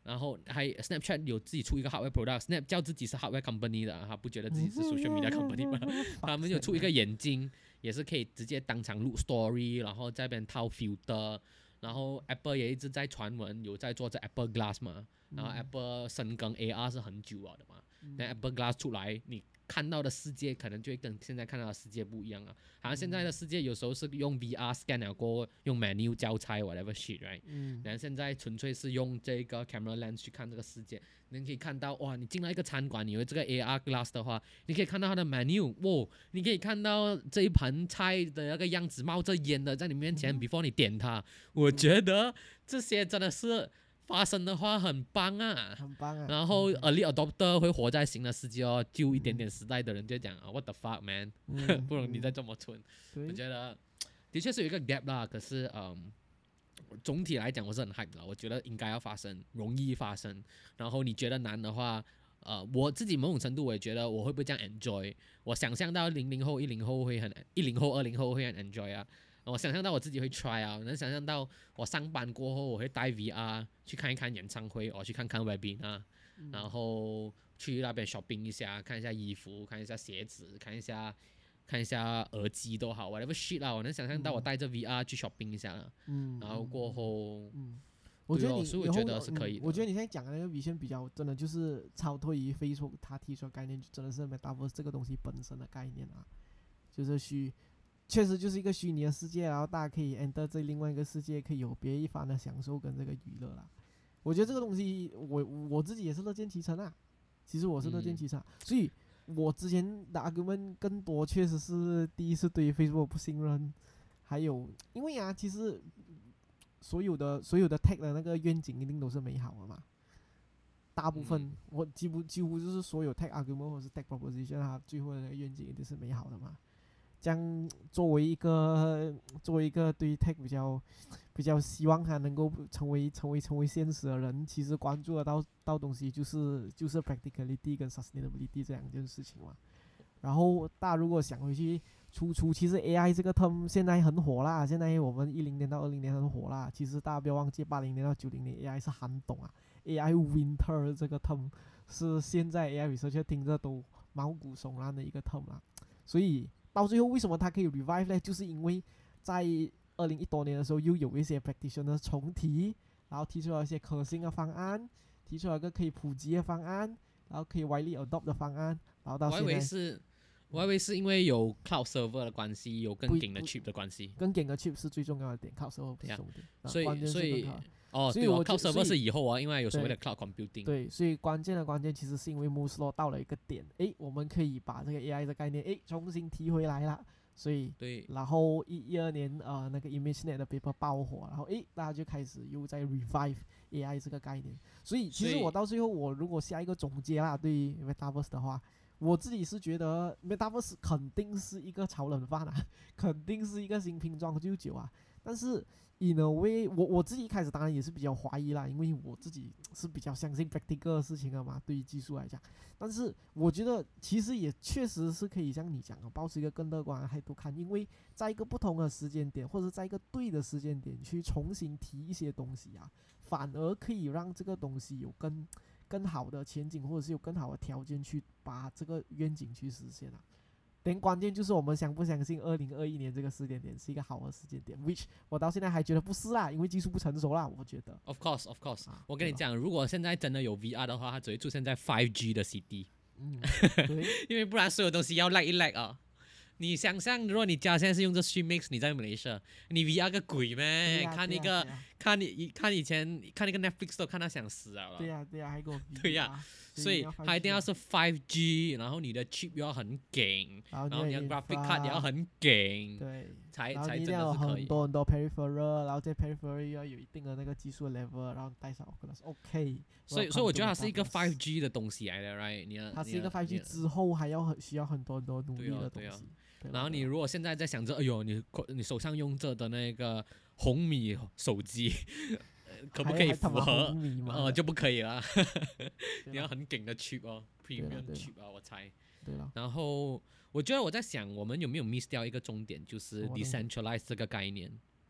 Speaker 2: 然后还 Snapchat 有自己出一个 hardware product，Snap 叫自己是 hardware company 的，他不觉得自己是 social media company 吗？他们有出一个眼镜，也是可以直接当场录 story，然后在那边套 filter，然后 Apple 也一直在传闻有在做这 Apple Glass 嘛，然后 Apple 深耕 A R 是很久了的嘛，那、嗯、Apple Glass 出来，你看到的世界可能就会跟现在看到的世界不一样啊。好像现在的世界有时候是用 V R scan 了过后，用 menu 交差 whatever shit，right？ 嗯。然后现在纯粹是用这个 camera lens 去看这个世界，你可以看到哇，你进到一个餐馆，你有这个 A R glass 的话，你可以看到它的 menu， 哇，你可以看到这一盘菜的那个样子冒着烟的在你面前、嗯、，before 你点它。我觉得这些真的是。发生的话很棒啊，
Speaker 3: 很棒啊。
Speaker 2: 然后 early adopter 会活在新的世界哦，就一点点时代的人就讲啊 ，what the fuck man，、嗯、不容你再这么蠢。我觉得的确是有一个 gap 啦，可是嗯，总体来讲我是很 hype 的，我觉得应该要发生，容易发生。然后你觉得难的话，呃，我自己某种程度我也觉得我会不会这样 enjoy， 我想象到零零后、一零后会很，一零后、二零后会很 enjoy 啊。我想象到我自己会 try 啊，我能想象到我上班过后我会带 V R 去看一看演唱会，我去看看 webinar，、嗯、然后去那边 shopping 一下，看一下衣服，看一下鞋子，看一下看一下耳机都好 whatever shit 啦，我能想象到我带着 V R 去 shopping 一下，嗯，然后过后，嗯，
Speaker 3: 我觉得你，
Speaker 2: 所以我觉得是可以的、
Speaker 3: 嗯。我觉得你现在讲的那个 vision 比较真的就是超脱于 Facebook 它提出的概念，就真的是 Metaverse 这个东西本身的概念啊，就是虚。确实就是一个虚拟的世界，然后大家可以 enter 这另外一个世界，可以有别一番的享受跟这个娱乐啦。我觉得这个东西，我我自己也是乐见其成啊。其实我是乐见其成、啊嗯，所以我之前的 argument 更多确实是第一是对于 Facebook 不信任，还有因为啊，其实所有的所有的 tech 的那个愿景一定都是美好的嘛。大部分、嗯、我几乎几乎就是所有 tech argument 或是 tech proposition 它最后的那个愿景一定是美好的嘛。这样作为一个作为一个对 tech 比较比较希望它能够成为成为成为现实的人，其实关注得到到东西就是就是 practicality 跟 sustainability 这两件事情嘛。然后大家如果想回去初初，其实 A I 这个 term 现在很火啦，现在我们一零年到二零年很火啦。其实大家不要忘记，八零年到九零年 A I 是寒冬啊 ，A I winter 这个 term 是现在 A I researcher 听着都毛骨悚然的一个 term 啦，所以。到最后为什么它可以 revive 呢？就是因为在二零一多年的时候，又有一些 practitioner 重提，然后提出了一些可行的方案，提出了一个可以普及的方案，然后可以 widely adopt 的方案，然后到现在。
Speaker 2: 我还以为是，我还以为是因为有 cloud server 的关系，有更紧的 chip 的关系。
Speaker 3: 更紧的 chip 是最重要的点 ，cloud server 不是重点。
Speaker 2: 所以所以哦，
Speaker 3: 对哦
Speaker 2: ，cloud server 是以后啊，因为有所谓的 cloud computing。
Speaker 3: 对，所以关键的关键其实是因为 Moore's Law 到了一个点，诶，我们可以把这个 A I 的概念诶重新提回来了。所以，
Speaker 2: 对，
Speaker 3: 然后一一二年呃那个 ImageNet 的 paper 爆火，然后诶大家就开始又在 revive A I 这个概念。所以其实我到最后我如果下一个总结啦，对于 Metaverse 的话，我自己是觉得 Metaverse 肯定是一个炒冷饭啊，肯定是一个新瓶装旧酒啊。但是 in a way 我我自己一开始当然也是比较怀疑啦，因为我自己是比较相信 practical 的事情的嘛，对于技术来讲。但是我觉得其实也确实是可以像你讲的，保持一个更乐观的态度看，因为在一个不同的时间点，或者在一个对的时间点去重新提一些东西啊，反而可以让这个东西有更更好的前景，或者是有更好的条件去把这个愿景去实现啊。但关键就是我们相不相信二零二一年这个时间点是一个好的时间点 ，which 我到现在还觉得不是啦，因为技术不成熟啦，我觉得。
Speaker 2: Of course, of course、啊。我跟你讲，如果现在真的有 V R 的话，它只会出现在 five G 的 C D。嗯，对。因为不然所有东西要 lag 一 lag 啊。你想象，如果你家现在是用这 Streamix， 你在 Malaysia， 你 V R 个鬼咩、啊？看那个，啊啊、看你看以前看那个 Netflix 都看到想死了。
Speaker 3: 对呀、啊、对呀、啊，还给我 V R。
Speaker 2: 对呀、啊。所以它一定要是 five G， 然后你的 chip 又要很紧，然后你的 graphic card 也要很紧，
Speaker 3: 对，
Speaker 2: 才
Speaker 3: 才
Speaker 2: 真的是可以。
Speaker 3: 很多很多 peripheral， 然后这 peripheral 要有一定的那个技术 level， 然后带上 Oculus OK。
Speaker 2: 所以所以我觉得它是一个 five G 的东西来的 ，right？ 你
Speaker 3: 它是一个 five G 之后还要很需要很多很多努力的东西。
Speaker 2: 对啊对啊。然后你如果现在在想着，哎呦，你你手上用着的那个红米手机。可不可以符合？呃，就不可以了。你要很紧的 chip 哦 ，premium chip 啊，我猜。
Speaker 3: 对了。
Speaker 2: 然后我觉得我在想，我们有没有 miss 掉一个重点，就是 decentralize 这个概念。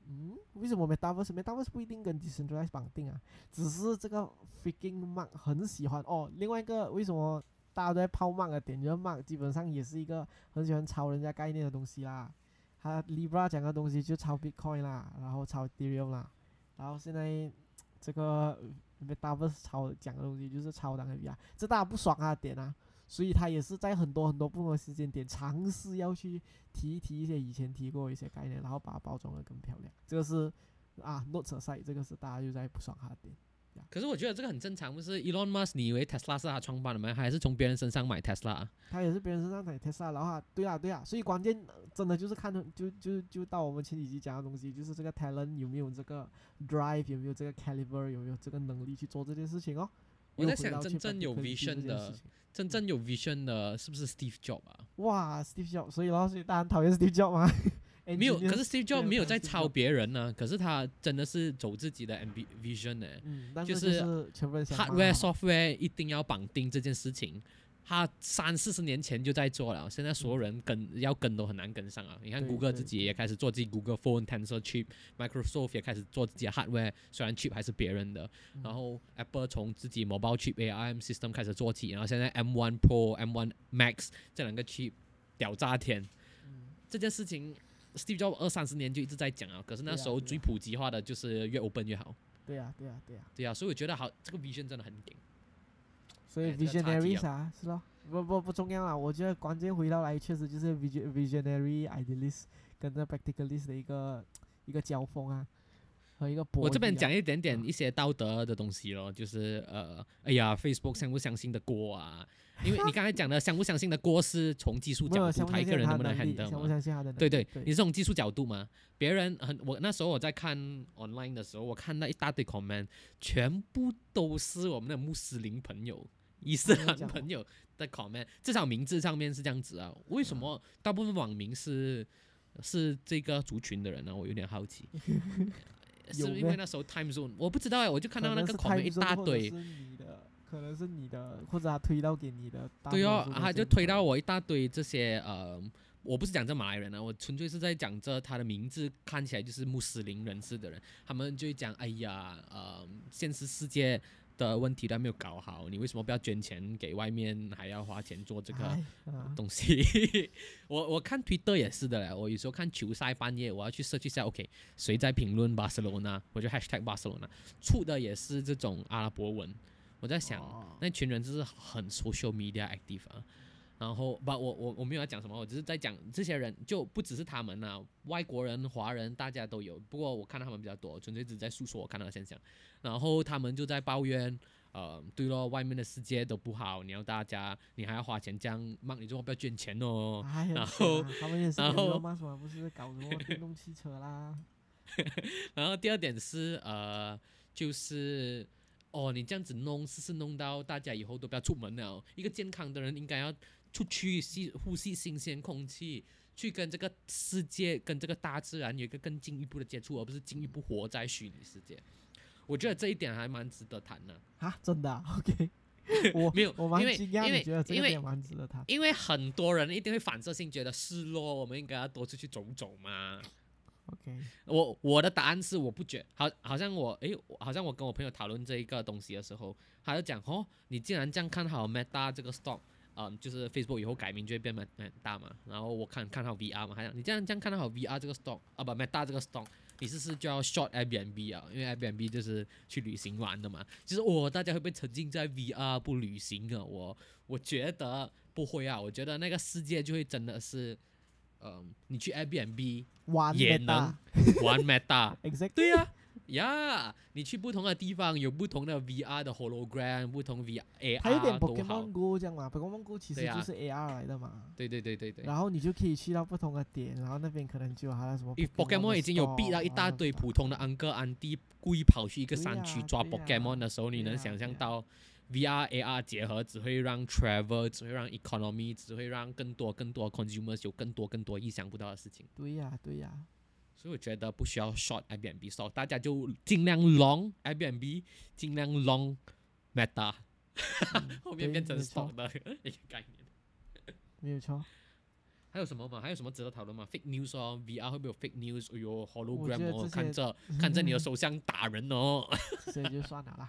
Speaker 3: 嗯，为什么 Metaverse Metaverse 不一定跟 Decentralized 绑定啊？只是这个 freaking Mark 很喜欢哦。另外一个为什么大家都在泡 Mark 的点，就是 Mark 基本上也是一个很喜欢抄人家概念的东西啦。他 Libra 讲的东西就抄 Bitcoin 啦，然后抄 Ethereum 啦，然后现在这个 Metaverse 抄讲的东西就是抄当 V R， 这大家不爽他的点啊。所以他也是在很多很多不同的时间点尝试要去提一提一些以前提过一些概念，然后把它包装的更漂亮。这个是啊 ，Note 赛，这个是大家就在不爽他的点。
Speaker 2: 可是我觉得这个很正常，不是 Elon Musk， 你以为 Tesla 是他创办的吗？还是从别人身上买 Tesla？
Speaker 3: 他也是别人身上买 Tesla，然后他对啊对啊，所以关键真的就是看就就就到我们前几集讲的东西，就是这个 talent 有没有这个 drive， 有没有这个 caliber， 有没有这个能力去做这件事情哦。
Speaker 2: 我在想，真正有 vision 的，真正有 vision 的，是不是 Steve Jobs 啊？
Speaker 3: 哇 ，Steve Jobs， 所以然后所以大家很讨厌 Steve Jobs 吗？
Speaker 2: 没有，可是 Steve Jobs 没有在抄别人呢、啊，可是他真的是走自己的 vision 呢、
Speaker 3: 嗯，但
Speaker 2: 就是是
Speaker 3: 全部人想
Speaker 2: hardware software 一定要绑定这件事情。他三四十年前就在做了，现在所有人跟要跟都很难跟上啊！你看
Speaker 3: 对
Speaker 2: Google
Speaker 3: 对
Speaker 2: 自己也开始做自己 Google Phone Tensor Chip，Microsoft 也开始做自己的 hardware， 虽然 chip 还是别人的。
Speaker 3: 嗯
Speaker 2: 然后 Apple 从自己 mobile chip A R M system 开始做起，然后现在 M 一 Pro、M 一 Max 这两个 chip 屌炸天。
Speaker 3: 嗯
Speaker 2: 这件事情 Steve Jobs 二三十年就一直在讲啊，可是那时候最普及化的就是越 open 越好。
Speaker 3: 对呀、啊、对呀、啊、对呀、啊。
Speaker 2: 对啊，所以我觉得好，这个 vision 真的很顶。
Speaker 3: 所以 visionary 啊，是咯，不不不重要啊，我觉得关键回到来确实就是 visionary idealist 跟这 practicalist 的一个一个交锋啊，和一个博弈、啊。
Speaker 2: 我这边讲一点点一些道德的东西咯，就是呃，哎呀 ，Facebook 相不相信的锅啊，因为你刚才讲的相不相信的锅是从技术角度，他一个人能不能 handle
Speaker 3: 相不相信他的能力？
Speaker 2: 对对，
Speaker 3: 对
Speaker 2: 你是从技术角度嘛？别人很，我那时候我在看 online 的时候，我看到一大堆 comment， 全部都是我们的穆斯林朋友。伊斯兰朋友的 comment， 至少名字上面是这样子啊。为什么大部分网民是是这个族群的人呢？我有点好奇。是因为那时候 time zone， 我不知道哎，我就看到那个 comment 一大堆。
Speaker 3: 可能是你的，或者他推到给你的。
Speaker 2: 对哦，他就推到我一大堆这些呃，我不是讲这马来人啊，我纯粹是在讲这他的名字看起来就是穆斯林人士的人，他们就会讲，哎呀，呃，现实世界的问题都还没有搞好，你为什么不要捐钱给外面，还要花钱做这个东西？我我看 Twitter 也是的嘞，我有时候看球赛半夜，我要去 search 一下 ，OK， 谁在评论巴塞罗那，我就 hashtag 巴塞罗那，出的也是这种阿拉伯文。我在想，哦、那群人就是很 social media active 啊。然后不，我我我没有要讲什么，我只是在讲这些人就不只是他们啊，外国人、华人大家都有。不过我看到他们比较多，纯粹只是在诉说我看到的现象。然后他们就在抱怨，呃，对咯，外面的世界都不好，你要大家，你还要花钱这样，骂你之后不要捐钱哦。
Speaker 3: 哎、
Speaker 2: 然后
Speaker 3: 他们也是，
Speaker 2: 然后
Speaker 3: 骂什么不是搞什么电动汽车啦。
Speaker 2: 然后第二点是呃，就是哦，你这样子弄，是是弄到大家以后都不要出门了。一个健康的人应该要出去吸呼吸新鲜空气，去跟这个世界、跟这个大自然有一个更进一步的接触，而不是进一步活在虚拟世界。我觉得这一点还蛮值得谈的。
Speaker 3: 啊，真的、啊、？OK， 我
Speaker 2: 没有，
Speaker 3: 我蛮惊讶，
Speaker 2: 因为
Speaker 3: 你觉得这个点蛮值得谈？
Speaker 2: 因为很多人一定会反射性觉得是咯，我们应该要多出去走走嘛。
Speaker 3: OK，
Speaker 2: 我我的答案是我不觉，好，好像我诶，好像我跟我朋友讨论这一个东西的时候，他就讲哦，你既然这样看好 Meta 这个 stock， 嗯，就是 Facebook 以后改名就会变 Meta 嘛，然后我看看好 V R 嘛，他讲你这样这样看好 V R 这个 stock 啊不 Meta 这个 stock， 你是不是就要 short Airbnb 啊？因为 Airbnb 就是去旅行玩的嘛，就是哦，大家会不会沉浸在 V R 不旅行啊？我我觉得不会啊，我觉得那个世界就会真的是。嗯，你去 Airbnb 也能玩 Meta， 对呀、啊，呀，你去不同的地方有不同的 V R 的 hologram， 不同 V R A R
Speaker 3: 它有点
Speaker 2: 都好。
Speaker 3: Pokemon Go 这样嘛 ，Pokemon Go 其实就是 A R 来的嘛。
Speaker 2: 对对对对对。
Speaker 3: 然后你就可以去到不同的点，然后那边可能就有它的什么
Speaker 2: Pokemon 已经有逼到一大堆普通的安哥安迪故意跑去一个山区抓 Pokemon 的时候，你能想象到？V R A R 结合只会让 travel， 只会让 economy， 只会让更多更多 consumers 有更多更多意想不到的事情。
Speaker 3: 对呀、啊，对呀、啊。
Speaker 2: 所以我觉得不需要 short Airbnb stock， 大家就尽量 long Airbnb， 尽量 long Meta，
Speaker 3: 嗯、
Speaker 2: 后面变成 stock 的一个概念。
Speaker 3: 没有错。
Speaker 2: 还有什么嘛？还有什么值得讨论吗？ Fake news 哦 ，V R 会不会有 fake news？哎呦
Speaker 3: 我觉
Speaker 2: ，hologram 哦，
Speaker 3: 得这些
Speaker 2: 看着看着你的手相打人哦。
Speaker 3: 所以就算了啦。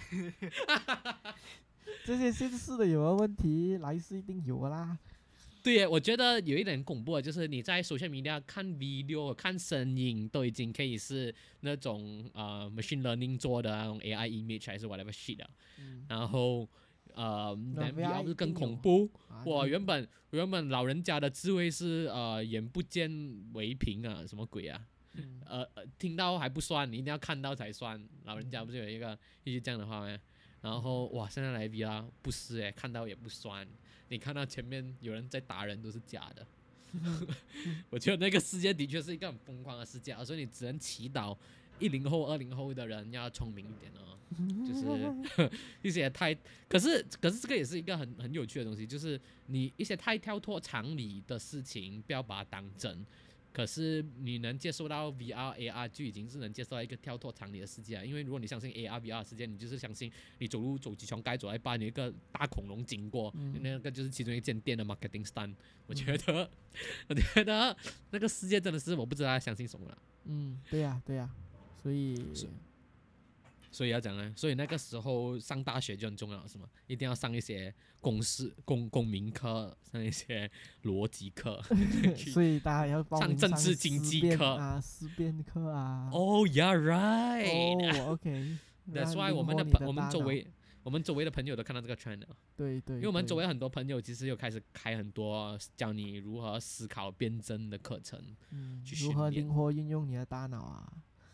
Speaker 3: 这些现实的有的问题，来世一定有的啦。
Speaker 2: 对耶，我觉得有一点恐怖的，就是你在 social media 看 video、看声音，都已经可以是那种呃 machine learning 做的那种 A I image 还是 whatever shit 的，
Speaker 3: 嗯，
Speaker 2: 然后呃
Speaker 3: 那
Speaker 2: ，then
Speaker 3: V R
Speaker 2: V R 就更
Speaker 3: 一定有
Speaker 2: 恐怖。
Speaker 3: 啊
Speaker 2: 哇，
Speaker 3: 你
Speaker 2: 原本原本老人家的智慧是呃眼不见为凭啊，什么鬼啊？
Speaker 3: 嗯
Speaker 2: 呃呃，听到还不算，你一定要看到才算。老人家不是有一个一句这样的话吗？然后哇，现在来 V R 不是诶，看到也不算。你看到前面有人在打人都是假的。我觉得那个世界的确是一个很疯狂的世界啊，所以你只能祈祷一零后、二零后的人要聪明一点哦。就是一些太，可是可是这个也是一个很很有趣的东西，就是你一些太跳脱常理的事情，不要把它当真。可是你能接受到 V R、A R 就已经是能接受到一个跳脱常理的世界了。因为如果你相信 A R、V R 的世界，你就是相信你走路走几条街走在半，有一个大恐龙经过，
Speaker 3: 嗯
Speaker 2: 那个就是其中一间店的 marketing stand。我觉得，我觉得那个世界真的是我不知道要相信什么了。
Speaker 3: 嗯，对呀、对呀、所以
Speaker 2: 所以要讲呢，所以那个时候上大学就很重要，是吗？一定要上一些公式、公公民课，上一些逻辑课。
Speaker 3: 所以大家要报名
Speaker 2: 上政治经
Speaker 3: 思辨
Speaker 2: 济课
Speaker 3: 啊、思辨课啊。
Speaker 2: Oh yeah, right.
Speaker 3: 哦，OK。
Speaker 2: That's why 我们的
Speaker 3: 的
Speaker 2: 朋我们周
Speaker 3: 大脑
Speaker 2: 围我们周围的朋友都看到这个 trend 了，
Speaker 3: 对对，
Speaker 2: 因为我们周
Speaker 3: 对
Speaker 2: 围很多朋友其实有开始开很多教你如何思考辩证的课程。
Speaker 3: 嗯
Speaker 2: 去训练
Speaker 3: 如何灵活运用你的大脑啊，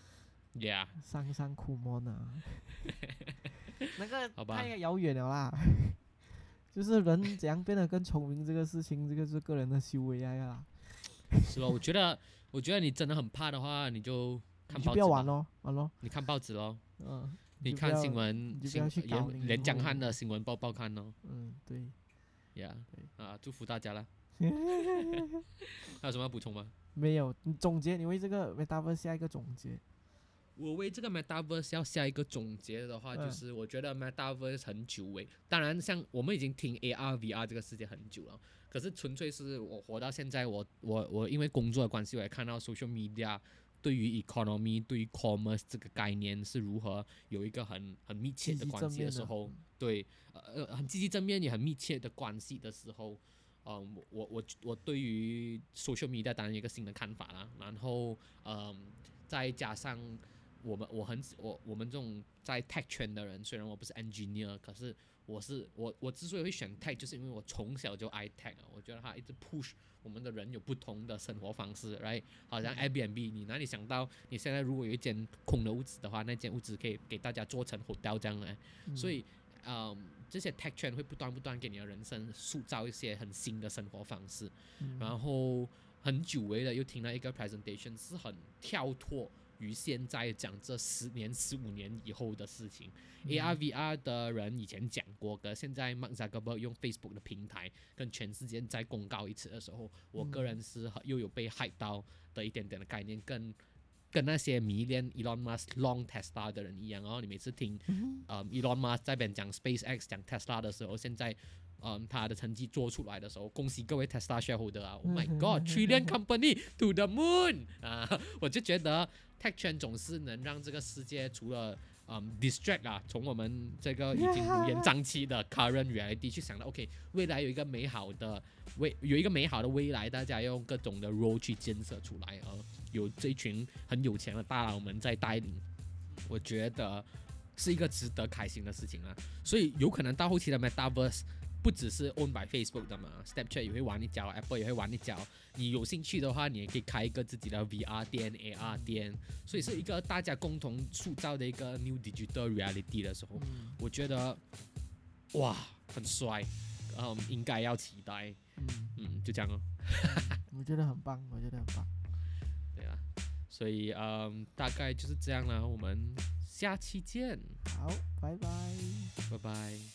Speaker 2: Yeah，
Speaker 3: 上上苦闷啊，那个
Speaker 2: 好吧
Speaker 3: 太遥远了啦。就是人怎样变得更聪明这个事情，这个是个人的修为来的啦。
Speaker 2: 是咯，我觉得我觉得你真的很怕的话，你就看
Speaker 3: 你就
Speaker 2: 报纸吧
Speaker 3: 不要玩咯，玩咯，
Speaker 2: 你看报纸咯，
Speaker 3: 嗯，
Speaker 2: 你
Speaker 3: 就不要
Speaker 2: 看新闻新
Speaker 3: 你就不要去搞零
Speaker 2: 连连江
Speaker 3: 零后
Speaker 2: 汉的新闻报报看咯。
Speaker 3: 嗯，对。
Speaker 2: Yeah，
Speaker 3: 对
Speaker 2: 啊，祝福大家啦。还有什么要补充吗？
Speaker 3: 没有，你总结，你为这个 Metaverse 下一个总结。
Speaker 2: 我为这个 Metaverse 要下一个总结的话，
Speaker 3: 嗯
Speaker 2: 就是我觉得 Metaverse 很久违。当然，像我们已经听 A R、V R 这个世界很久了，可是纯粹是我活到现在，我我我因为工作的关系，我也看到 social media 对于 economy、对于 commerce 这个概念是如何有一个很很密切
Speaker 3: 积极
Speaker 2: 的关系
Speaker 3: 正面的
Speaker 2: 的时候，对，呃呃，很积极正面也很密切的关系的时候。嗯，我我我对于 social media 当然有一个新的看法啦，然后嗯，再加上我们我很我我们这种在 tech 圈的人，虽然我不是 engineer，可是我是我我之所以会选 tech，就是因为我从小就爱 tech，我觉得它一直 push 我们的人有不同的生活方式，right？ 好像 Airbnb， 你哪里想到你现在如果有一间空的屋子的话，那间屋子可以给大家做成 hotel 这样的，
Speaker 3: 嗯
Speaker 2: 所以嗯。这些 tech 圈会不断不断给你的人生塑造一些很新的生活方式，
Speaker 3: 嗯
Speaker 2: 然后很久违的又听到一个 presentation 是很跳脱于现在讲这十年、十五年以后的事情。
Speaker 3: 嗯
Speaker 2: A R、V R 的人以前讲过，可现在 Mark Zuckerberg 用 Facebook 的平台跟全世界再公告一次的时候，我个人是很又有被 hype 到的一点点的概念，跟跟那些迷恋 Elon Musk long Tesla 的人一样哦。你每次听呃 Elon Musk 在边讲 SpaceX 讲 Tesla 的时候，现在嗯他的成绩做出来的时候，恭喜各位 Tesla shareholder 啊 ！Oh my God，trillion company to the moon 啊！我就觉得 tech 圈总是能让这个世界除了嗯 distract 啊，从我们这个已经乌烟瘴气的 current reality 去想到 OK， 未来有一个美好的未有一个美好的未来，大家用各种的 role 去建设出来啊。有这一群很有钱的大佬们在带领，我觉得是一个值得开心的事情啊。所以有可能到后期的 Metaverse 不只是 owned by Facebook 的嘛 ，Snapchat 也会玩一脚 ，Apple 也会玩一脚。你有兴趣的话，你也可以开一个自己的 V R 店、A R 店，所以是一个大家共同塑造的一个 new digital reality 的时候，
Speaker 3: 嗯
Speaker 2: 我觉得哇很帅，嗯，应该要期待，
Speaker 3: 嗯，
Speaker 2: 嗯，就这样哦。
Speaker 3: 我觉得很棒，我觉得很棒。
Speaker 2: 对啊，所以嗯，大概就是这样了，我们下期见，
Speaker 3: 好，拜拜。
Speaker 2: 拜拜。